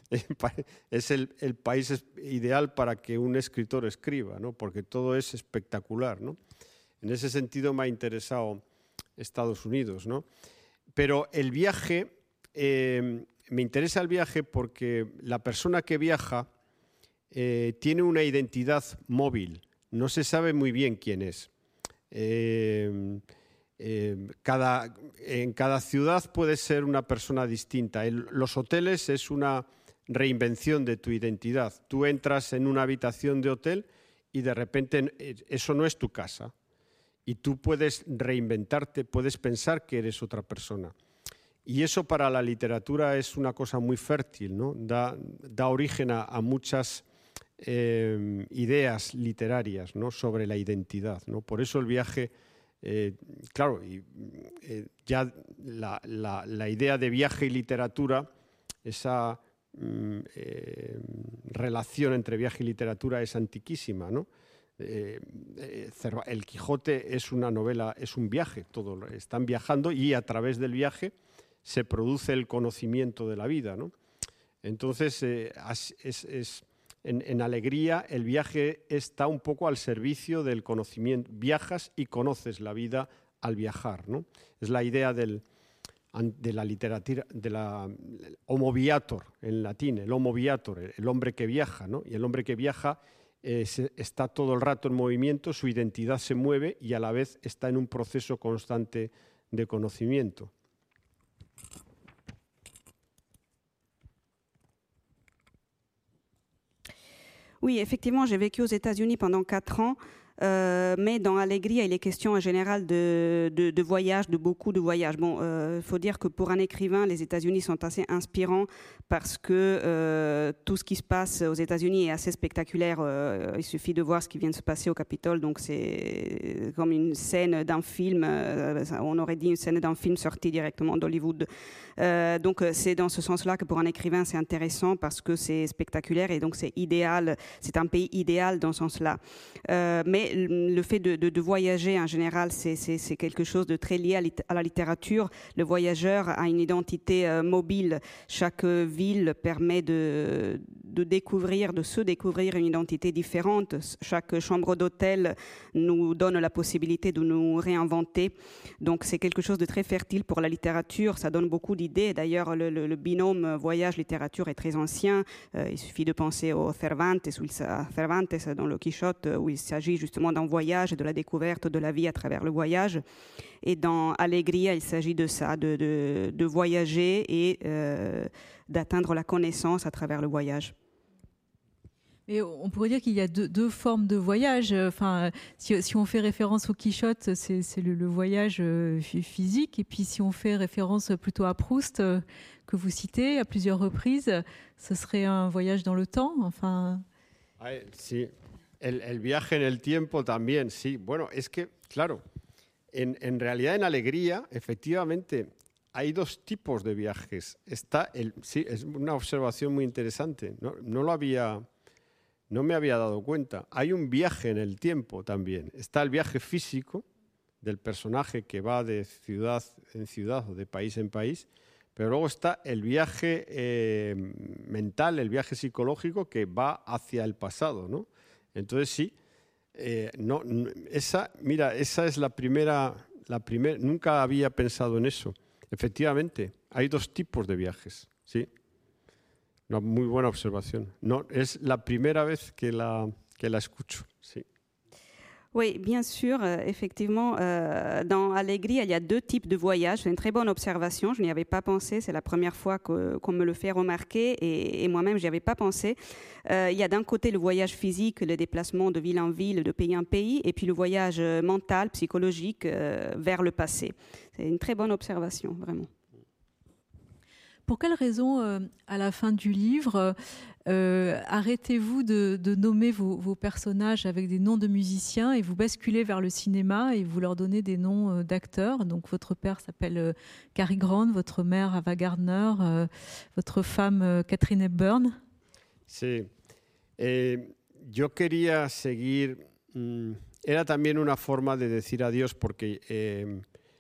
Speaker 3: es el, el país ideal para que un escritor escriba, ¿no? Porque todo es espectacular, ¿no? En ese sentido me ha interesado Estados Unidos, ¿no? Pero el viaje, eh, me interesa el viaje porque la persona que viaja eh, tiene una identidad móvil, no se sabe muy bien quién es. Eh, eh, cada, en cada ciudad puede ser una persona distinta. El, los hoteles es una reinvención de tu identidad. Tú entras en una habitación de hotel y de repente eso no es tu casa. Y tú puedes reinventarte, puedes pensar que eres otra persona. Y eso para la literatura es una cosa muy fértil, ¿no? Da, da origen a, a muchas eh, ideas literarias, ¿no? Sobre la identidad, ¿no? Por eso el viaje, eh, claro, y, eh, ya la, la, la idea de viaje y literatura, esa mm, eh, relación entre viaje y literatura es antiquísima, ¿no? Eh, eh, el Quijote es una novela, es un viaje, todo, están viajando y a través del viaje se produce el conocimiento de la vida, ¿no? Entonces, eh, es, es, en, en Alegría el viaje está un poco al servicio del conocimiento. Viajas y conoces la vida al viajar, ¿no? Es la idea del de la literatura, de la homo viator en latín, el homo viator, el hombre que viaja, ¿no? Y el hombre que viaja eh, se, está todo el rato en movimiento, su identidad se mueve y a la vez está en un proceso constante de conocimiento.
Speaker 4: Oui, effectivement, j'ai vécu aux États-Unis pendant quatre ans. Euh, mais dans Allegria, il est question en général de, de, de voyage, de beaucoup de voyages. Bon, il euh, faut dire que pour un écrivain, les États-Unis sont assez inspirants parce que euh, tout ce qui se passe aux États-Unis est assez spectaculaire. Euh, il suffit de voir ce qui vient de se passer au Capitole, donc c'est comme une scène d'un film. Euh, on aurait dit une scène d'un film sorti directement d'Hollywood. Euh, donc c'est dans ce sens-là que pour un écrivain, c'est intéressant parce que c'est spectaculaire et donc c'est idéal. C'est un pays idéal dans ce sens-là. Euh, mais le fait de, de, de voyager en général, c'est, c'est, c'est quelque chose de très lié à, lit- à la littérature. Le voyageur a une identité euh, mobile. Chaque ville permet de, de découvrir, de se découvrir une identité différente. Chaque chambre d'hôtel nous donne la possibilité de nous réinventer. Donc c'est quelque chose de très fertile pour la littérature. Ça donne beaucoup d'idées. D'ailleurs, le, le, le binôme voyage-littérature est très ancien. Euh, il suffit de penser au Cervantes, où il, Cervantes dans le Quichotte, où il s'agit justement d'un voyage et de la découverte de la vie à travers le voyage. Et dans Allegria, il s'agit de ça, de, de, de voyager et euh, d'atteindre la connaissance à travers le voyage.
Speaker 2: Et on pourrait dire qu'il y a deux, deux formes de voyage. Enfin, si, si on fait référence au Quichotte, c'est, c'est le, le voyage physique. Et puis si on fait référence plutôt à Proust, que vous citez à plusieurs reprises, ce serait un voyage dans le temps. Enfin...
Speaker 3: Ay, sí. El, el viaje en el tiempo también, sí. Bueno, es que, claro, en, en realidad en Alegría, efectivamente, hay dos tipos de viajes. Está el, sí, es una observación muy interesante. No, no lo había, no me había dado cuenta. Hay un viaje en el tiempo también. Está el viaje físico del personaje que va de ciudad en ciudad o de país en país, pero luego está el viaje eh, mental, el viaje psicológico que va hacia el pasado, ¿no? Entonces sí, eh, no, esa, mira, esa es la primera, la primera, nunca había pensado en eso. Efectivamente, hay dos tipos de viajes, sí. Una muy buena observación. No, es la primera vez que la, que la escucho, sí.
Speaker 4: Oui, bien sûr, euh, effectivement, euh, dans Allegria, il y a deux types de voyages. C'est une très bonne observation, je n'y avais pas pensé, c'est la première fois que, qu'on me le fait remarquer et, et moi-même, je n'y avais pas pensé. Euh, il y a d'un côté le voyage physique, le déplacement de ville en ville, de pays en pays, et puis le voyage mental, psychologique, euh, vers le passé. C'est une très bonne observation, vraiment.
Speaker 2: Pour quelle raison, euh, à la fin du livre, euh, arrêtez-vous de, de nommer vos, vos personnages avec des noms de musiciens et vous basculez vers le cinéma et vous leur donnez des noms euh, d'acteurs? Donc votre père s'appelle euh, Cary Grant, votre mère Ava Gardner, euh, votre femme euh, Katharine Hepburn.
Speaker 3: Sí, eh, yo quería seguir, mmm, era también una forma de decir adiós porque eh,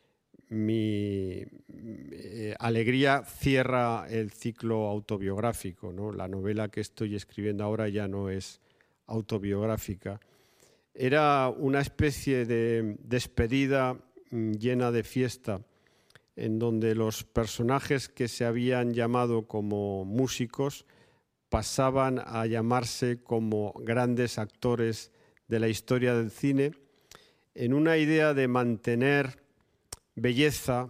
Speaker 3: mi eh, Alegría cierra el ciclo autobiográfico, ¿no? La novela que estoy escribiendo ahora ya no es autobiográfica. Era una especie de despedida mm, llena de fiesta, en donde los personajes que se habían llamado como músicos pasaban a llamarse como grandes actores de la historia del cine, en una idea de mantener belleza,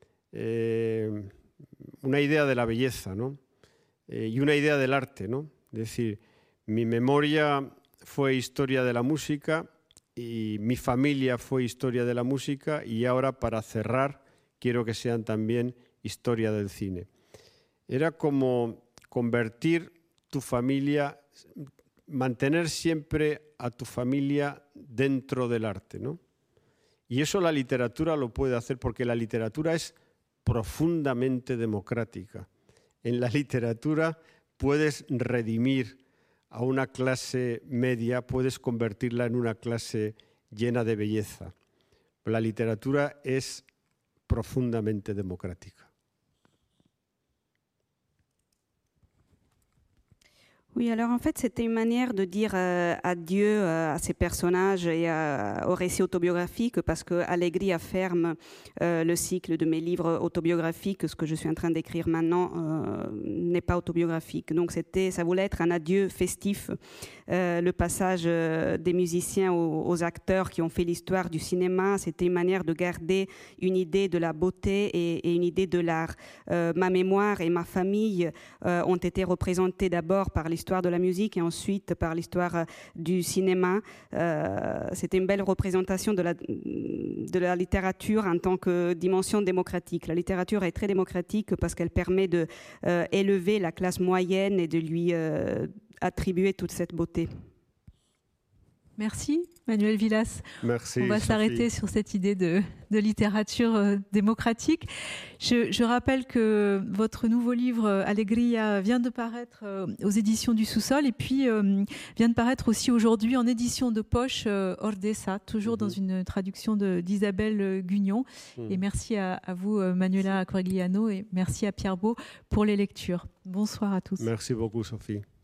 Speaker 3: eh, una idea de la belleza, ¿no? Eh, y una idea del arte, ¿no? Es decir, mi memoria fue historia de la música y mi familia fue historia de la música y ahora, para cerrar, quiero que sean también historia del cine. Era como convertir tu familia, mantener siempre a tu familia dentro del arte, ¿no? Y eso la literatura lo puede hacer porque la literatura es profundamente democrática. En la literatura puedes redimir a una clase media, puedes convertirla en una clase llena de belleza. La literatura es profundamente democrática.
Speaker 4: Oui, alors en fait, c'était une manière de dire euh, adieu euh, à ces personnages et euh, au récit autobiographique, parce que Allegria ferme euh, le cycle de mes livres autobiographiques. Ce que je suis en train d'écrire maintenant euh, n'est pas autobiographique. Donc, c'était, ça voulait être un adieu festif. Euh, le passage euh, des musiciens aux, aux acteurs qui ont fait l'histoire du cinéma, c'était une manière de garder une idée de la beauté et, et une idée de l'art. Euh, ma mémoire et ma famille euh, ont été représentées d'abord par l'histoire de la musique et ensuite par l'histoire du cinéma. Euh, c'était une belle représentation de la, de la littérature en tant que dimension démocratique. La littérature est très démocratique parce qu'elle permet de euh, élever la classe moyenne et de lui euh, attribuer toute cette beauté.
Speaker 2: Merci, Manuel Villas.
Speaker 3: Merci,
Speaker 2: On va
Speaker 3: Sophie.
Speaker 2: s'arrêter sur cette idée de, de littérature euh, démocratique. Je, je rappelle que votre nouveau livre, Allegria, vient de paraître euh, aux éditions du Sous-Sol et puis euh, vient de paraître aussi aujourd'hui en édition de poche euh, Ordesa, toujours mm-hmm. dans une traduction de, d'Isabelle Gugnon. Mm. Et merci à, à vous, Manuela Corigliano, et merci à Pierre Beau pour les lectures. Bonsoir à tous.
Speaker 3: Merci beaucoup, Sophie.